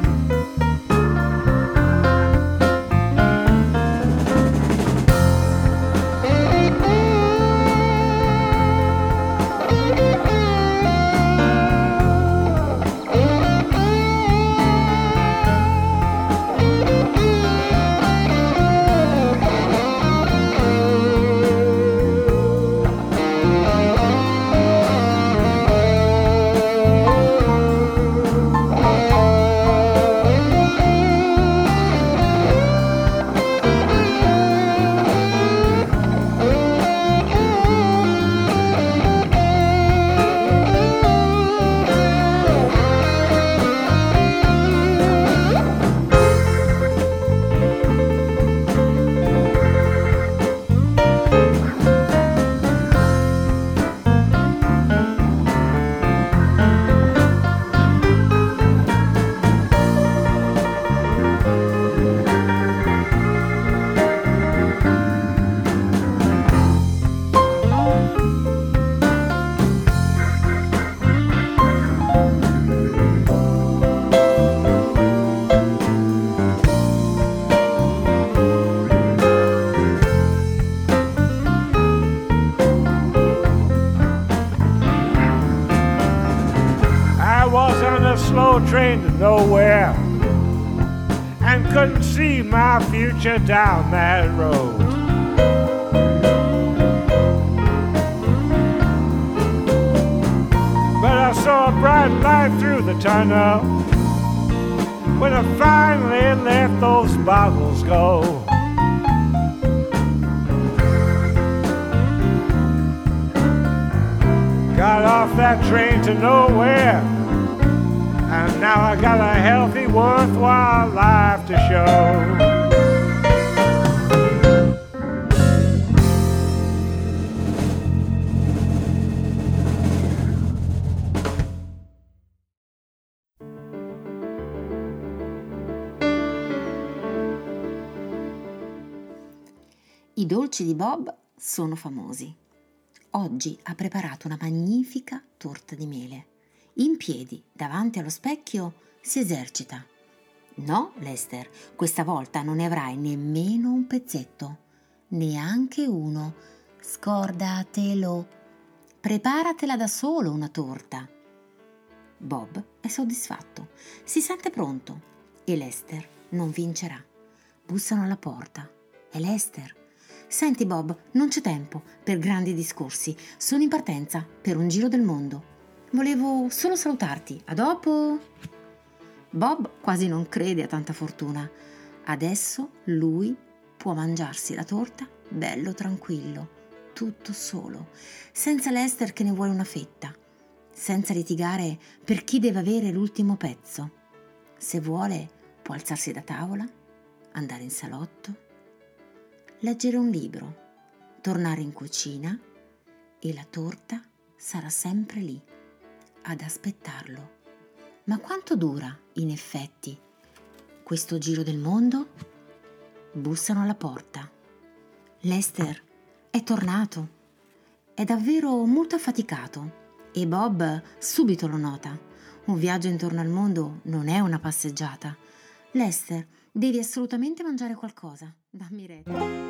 Slow train to nowhere, and couldn't see my future down that road. But I saw a bright light through the tunnel when I finally let those bottles go. Got off that train to nowhere, and now I got a healthy, worthwhile life to show. I dolci di Bob sono famosi. Oggi ha preparato una magnifica torta di mele. In piedi, davanti allo specchio, si esercita. No, Lester, questa volta non ne avrai nemmeno un pezzetto, neanche uno. Scordatelo. preparatela da solo una torta. Bob è soddisfatto, si sente pronto e Lester non vincerà. Bussano alla porta. È Lester. Senti Bob, non c'è tempo per grandi discorsi, sono in partenza per un giro del mondo. Volevo solo salutarti, a dopo! Bob quasi non crede a tanta fortuna. Adesso lui può mangiarsi la torta bello tranquillo, tutto solo, senza Lester che ne vuole una fetta, senza litigare per chi deve avere l'ultimo pezzo. Se vuole può alzarsi da tavola, andare in salotto, leggere un libro, tornare in cucina e la torta sarà sempre lì, ad aspettarlo. Ma quanto dura, in effetti, questo giro del mondo? Bussano alla porta. Lester è tornato. È davvero molto affaticato e Bob subito lo nota. Un viaggio intorno al mondo non è una passeggiata. Lester, devi assolutamente mangiare qualcosa. Dammi retta.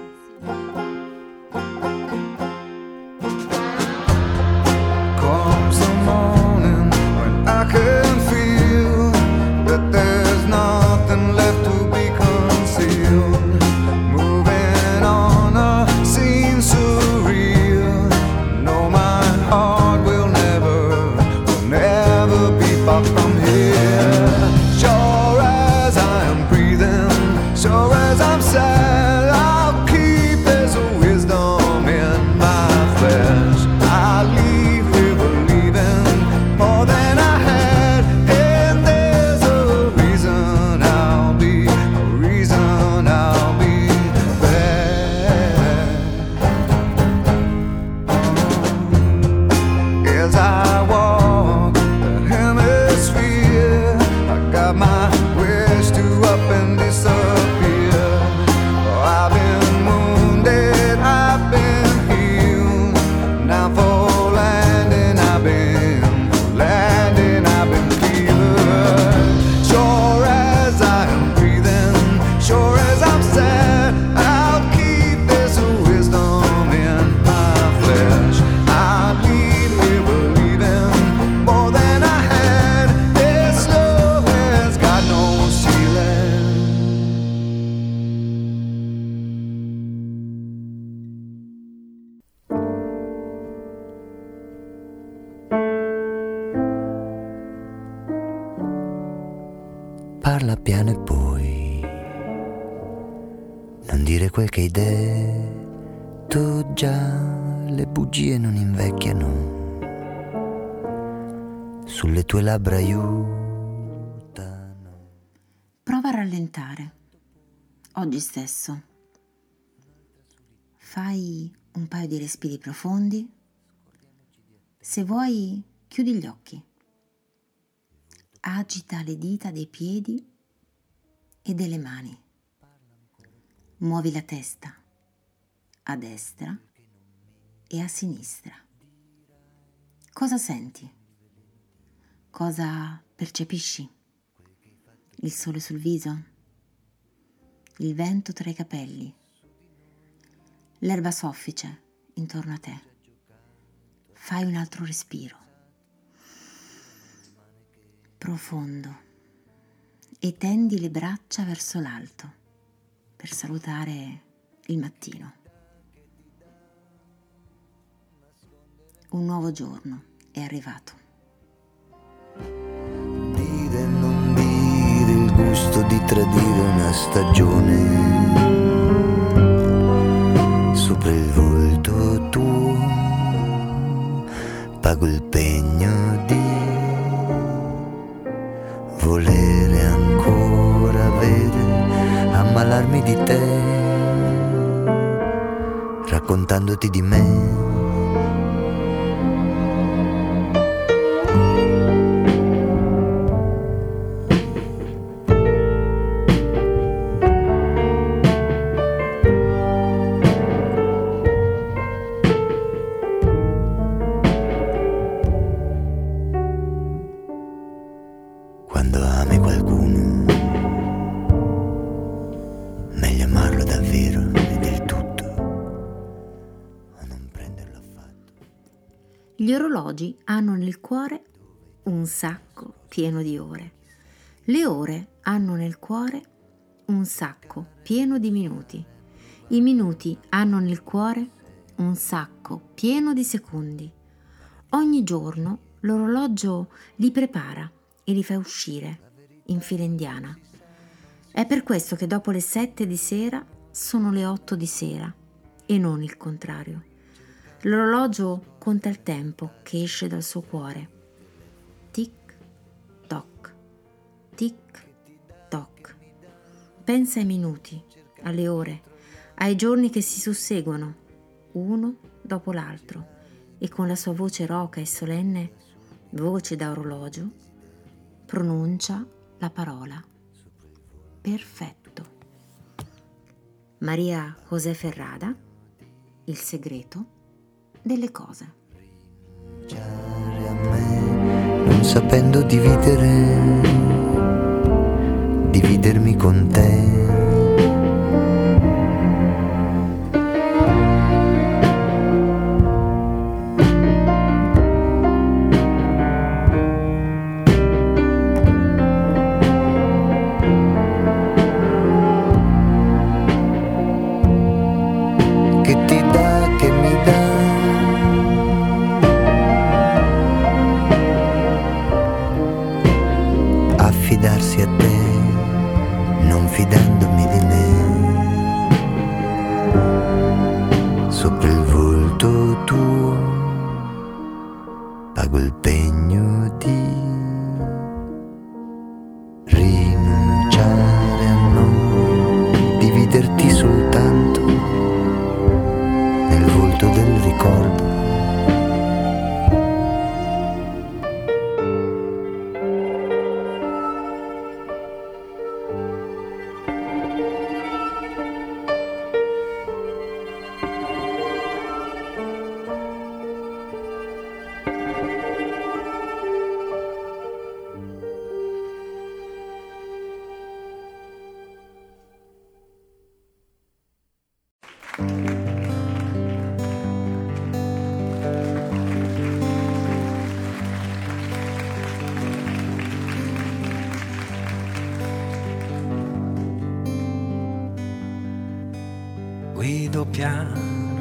Comes the morning when I can feel that there's nothing left to be concealed. Moving on a scene surreal. No, my heart will never, will never be far from here. Sure as I am breathing, sure as I'm sad, I'll keep this wisdom in my flesh. I'll leave here believing more than I had, and there's a reason I'll be, a reason I'll be back. As I walk the hemisphere, I got my wish to up and disappear. Oh, I've been wounded, I've been healed. Now for landing, I've been, for landing, I've been cleared. Sure as I am breathing, sure as I'm sad, I'll keep this wisdom in my flesh. I'll leave here believing more than I had. This love has got no ceiling. Parla piano e poi non dire quel che hai detto già, le bugie non invecchiano, sulle tue labbra aiutano. Prova a rallentare. Oggi stesso. Fai un paio di respiri profondi. Se vuoi, chiudi gli occhi. Agita le dita dei piedi e delle mani. Muovi la testa a destra e a sinistra. Cosa senti? Cosa percepisci? Il sole sul viso? Il vento tra i capelli? L'erba soffice intorno a te? Fai un altro respiro. Profondo e tendi le braccia verso l'alto per salutare il mattino. Un nuovo giorno è arrivato. Dire e non dire, il gusto di tradire una stagione. Sopra il volto tuo pago il pegno di volere ancora avere, ammalarmi di te, raccontandoti di me. Quando ami qualcuno, meglio amarlo davvero e del tutto, o non prenderlo affatto. Gli orologi hanno nel cuore un sacco pieno di ore. Le ore hanno nel cuore un sacco pieno di minuti. I minuti hanno nel cuore un sacco pieno di secondi. Ogni giorno l'orologio li prepara e li fa uscire in fila indiana. È per questo che dopo le sette di sera sono le otto di sera e non il contrario. L'orologio conta il tempo che esce dal suo cuore. Tic toc, tic toc. Pensa ai minuti, alle ore, ai giorni che si susseguono, uno dopo l'altro, e con la sua voce roca e solenne, voce da orologio, pronuncia la parola perfetto. Maria José Ferrada, Il segreto delle cose. A me, non sapendo dividere, dividermi con te. Affidarsi a te, non fidandomi di me. Sopra il volto tuo pago il pegno di rinunciare a noi, dividerti soltanto nel volto del ricordo. Guido piano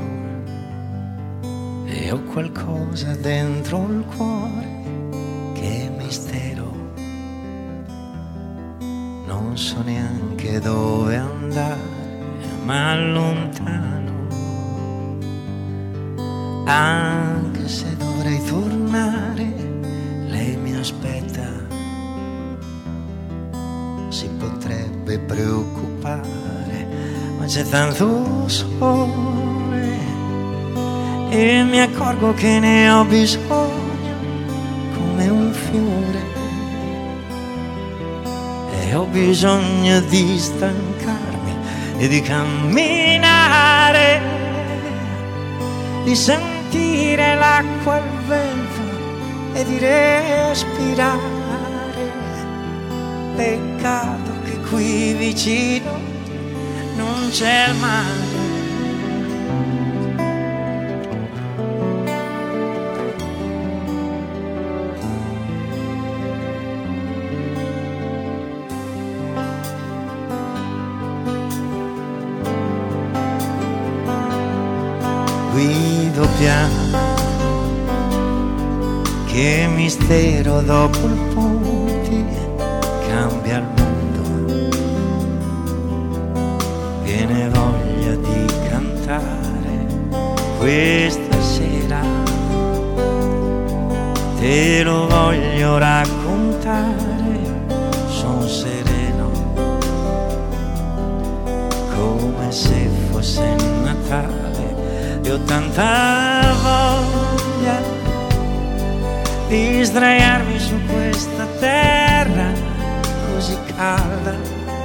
e ho qualcosa dentro il cuore che è mistero. Non so neanche dove andare, ma allontano. Anche se dovrei tornare, lei mi aspetta. Si potrebbe preoccupare, ma c'è tanto sole e mi accorgo che ne ho bisogno come un fiore, e ho bisogno di stancarmi e di camminare, di sentire l'acqua, il vento e di respirare. Peccato che qui vicino non c'è il mare. Guido piano, che mistero dopo il ponte cambia il mondo. Viene voglia di cantare questa sera, te lo voglio raccontare, son sereno come se fosse Natale, e ho tanta voglia di sdraiarmi su questa terra così calda,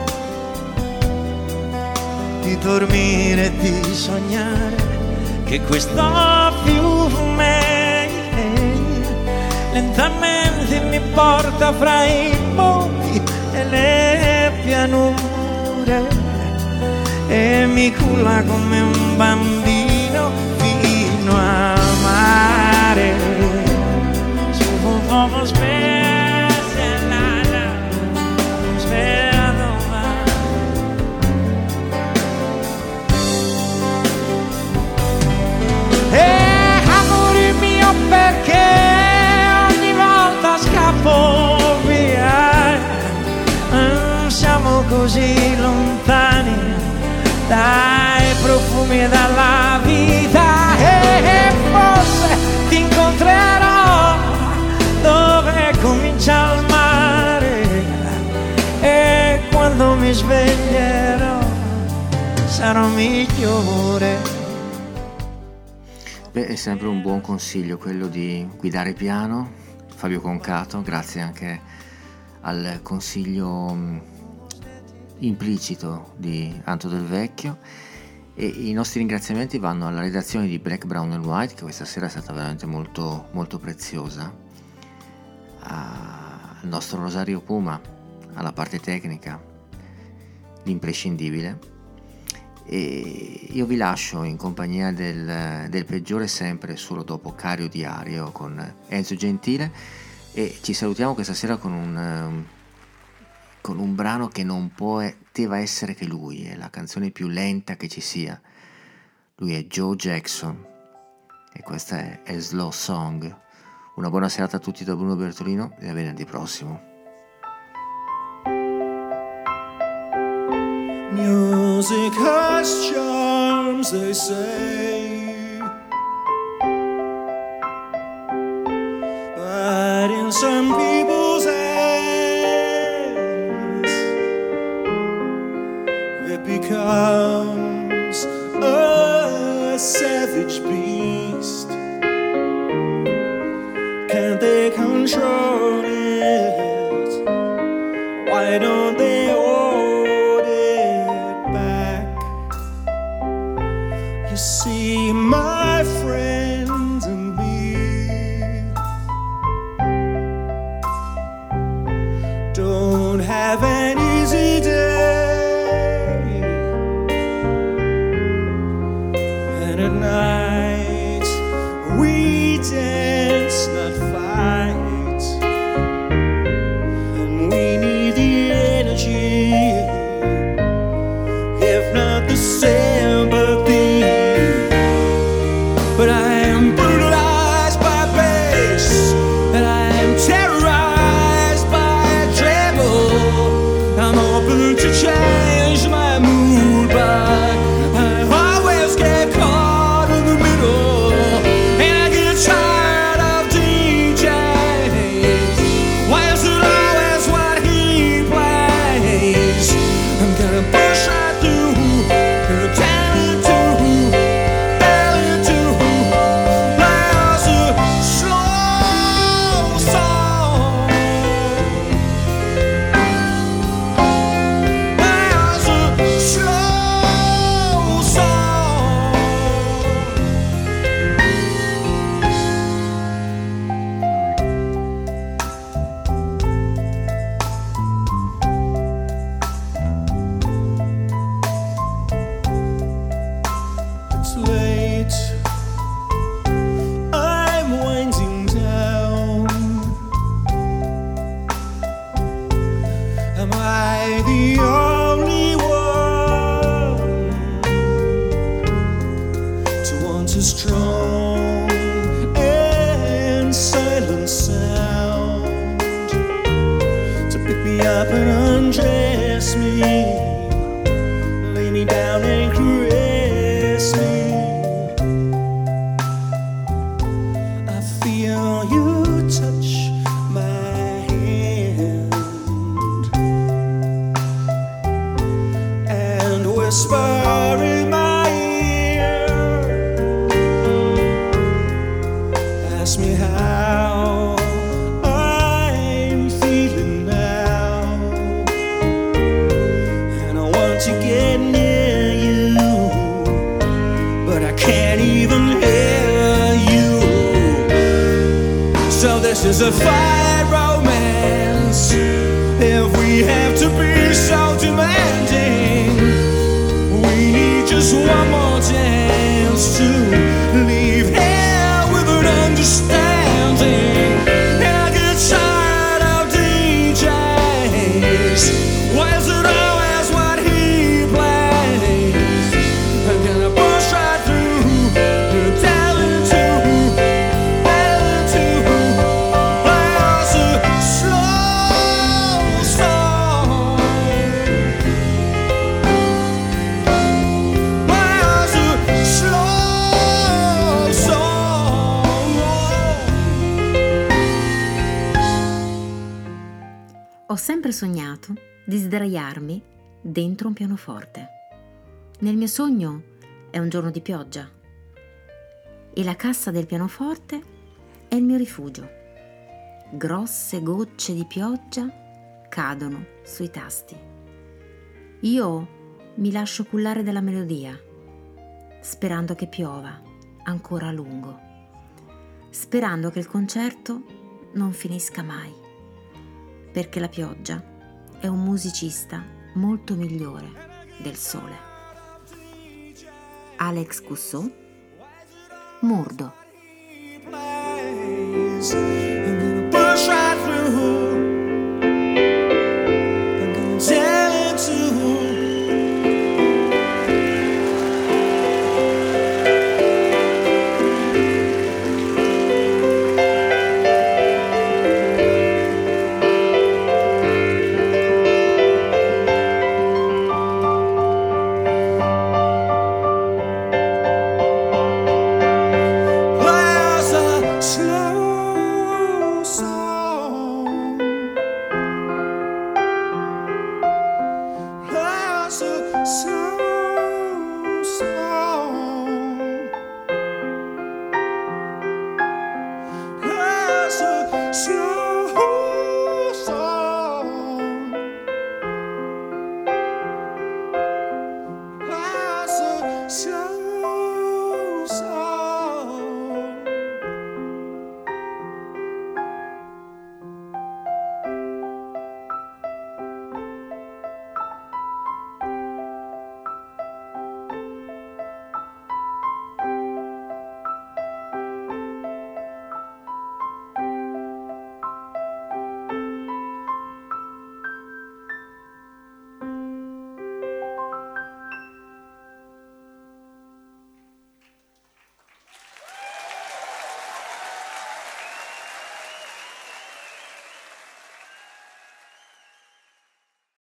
di dormire e di sognare che questo fiume lentamente mi porta fra i monti e le pianure e mi culla come un bambino fino al mare. como specialata, sperato mai. E amore mio, perché ogni volta scappo via, siamo così lontani dai profumi della vita, e forse ti incontrerò dove comincia il mare, e quando mi sveglierò sarò migliore. Beh, è sempre un buon consiglio quello di guidare piano. Fabio Concato, grazie anche al consiglio mh, implicito di Anto Del Vecchio, e i nostri ringraziamenti vanno alla redazione di Black, Brown and White, che questa sera è stata veramente molto, molto preziosa, al nostro Rosario Puma alla parte tecnica, l'imprescindibile, e io vi lascio in compagnia del, del peggiore sempre solo dopo Cario Diario con Enzo Gentile, e ci salutiamo questa sera con un con un brano che non poteva essere che lui, è la canzone più lenta che ci sia. Lui è Joe Jackson e questa è A Slow Song. Una buona serata a tutti da Bruno Bertolino e a venerdì prossimo. Music has charms, they say, but in some people's hands it becomes a savage beast. Can't they control it? Why don't they hold it back? You see, my friends and me don't have an easy day, and at night we dance, not fight, and we need the energy, if not the sympathy. But I am brutalized by bass, and I am terrorized by treble. I'm open to change my mood, but I always get caught in the middle, and I get tired of D Js. Why is it always what he plays? I'm gonna push right through, and tell it to, tell it to. There's a slow song. There's a slow song. It's late, I'm winding down. Am I the only one to want a strong and silent sound to pick me up and undress me, lay me down and caress me? I feel you touch my hand and whisper in my ear, ask me how I'm feeling now, and I want to get near you, but I can't even hear you. So this is a fight romance, if we have to be so demanding. We need just one more chance to leave here with an understanding. And I get di sdraiarmi dentro un pianoforte. Nel mio sogno è un giorno di pioggia e la cassa del pianoforte è il mio rifugio. Grosse gocce di pioggia cadono sui tasti. Io mi lascio cullare dalla melodia, sperando che piova ancora a lungo, sperando che il concerto non finisca mai, perché la pioggia è un musicista molto migliore del sole. Alex Cousteau, Murdo. Push right through. I'm gonna tell it to. There's a slow song. There's a slow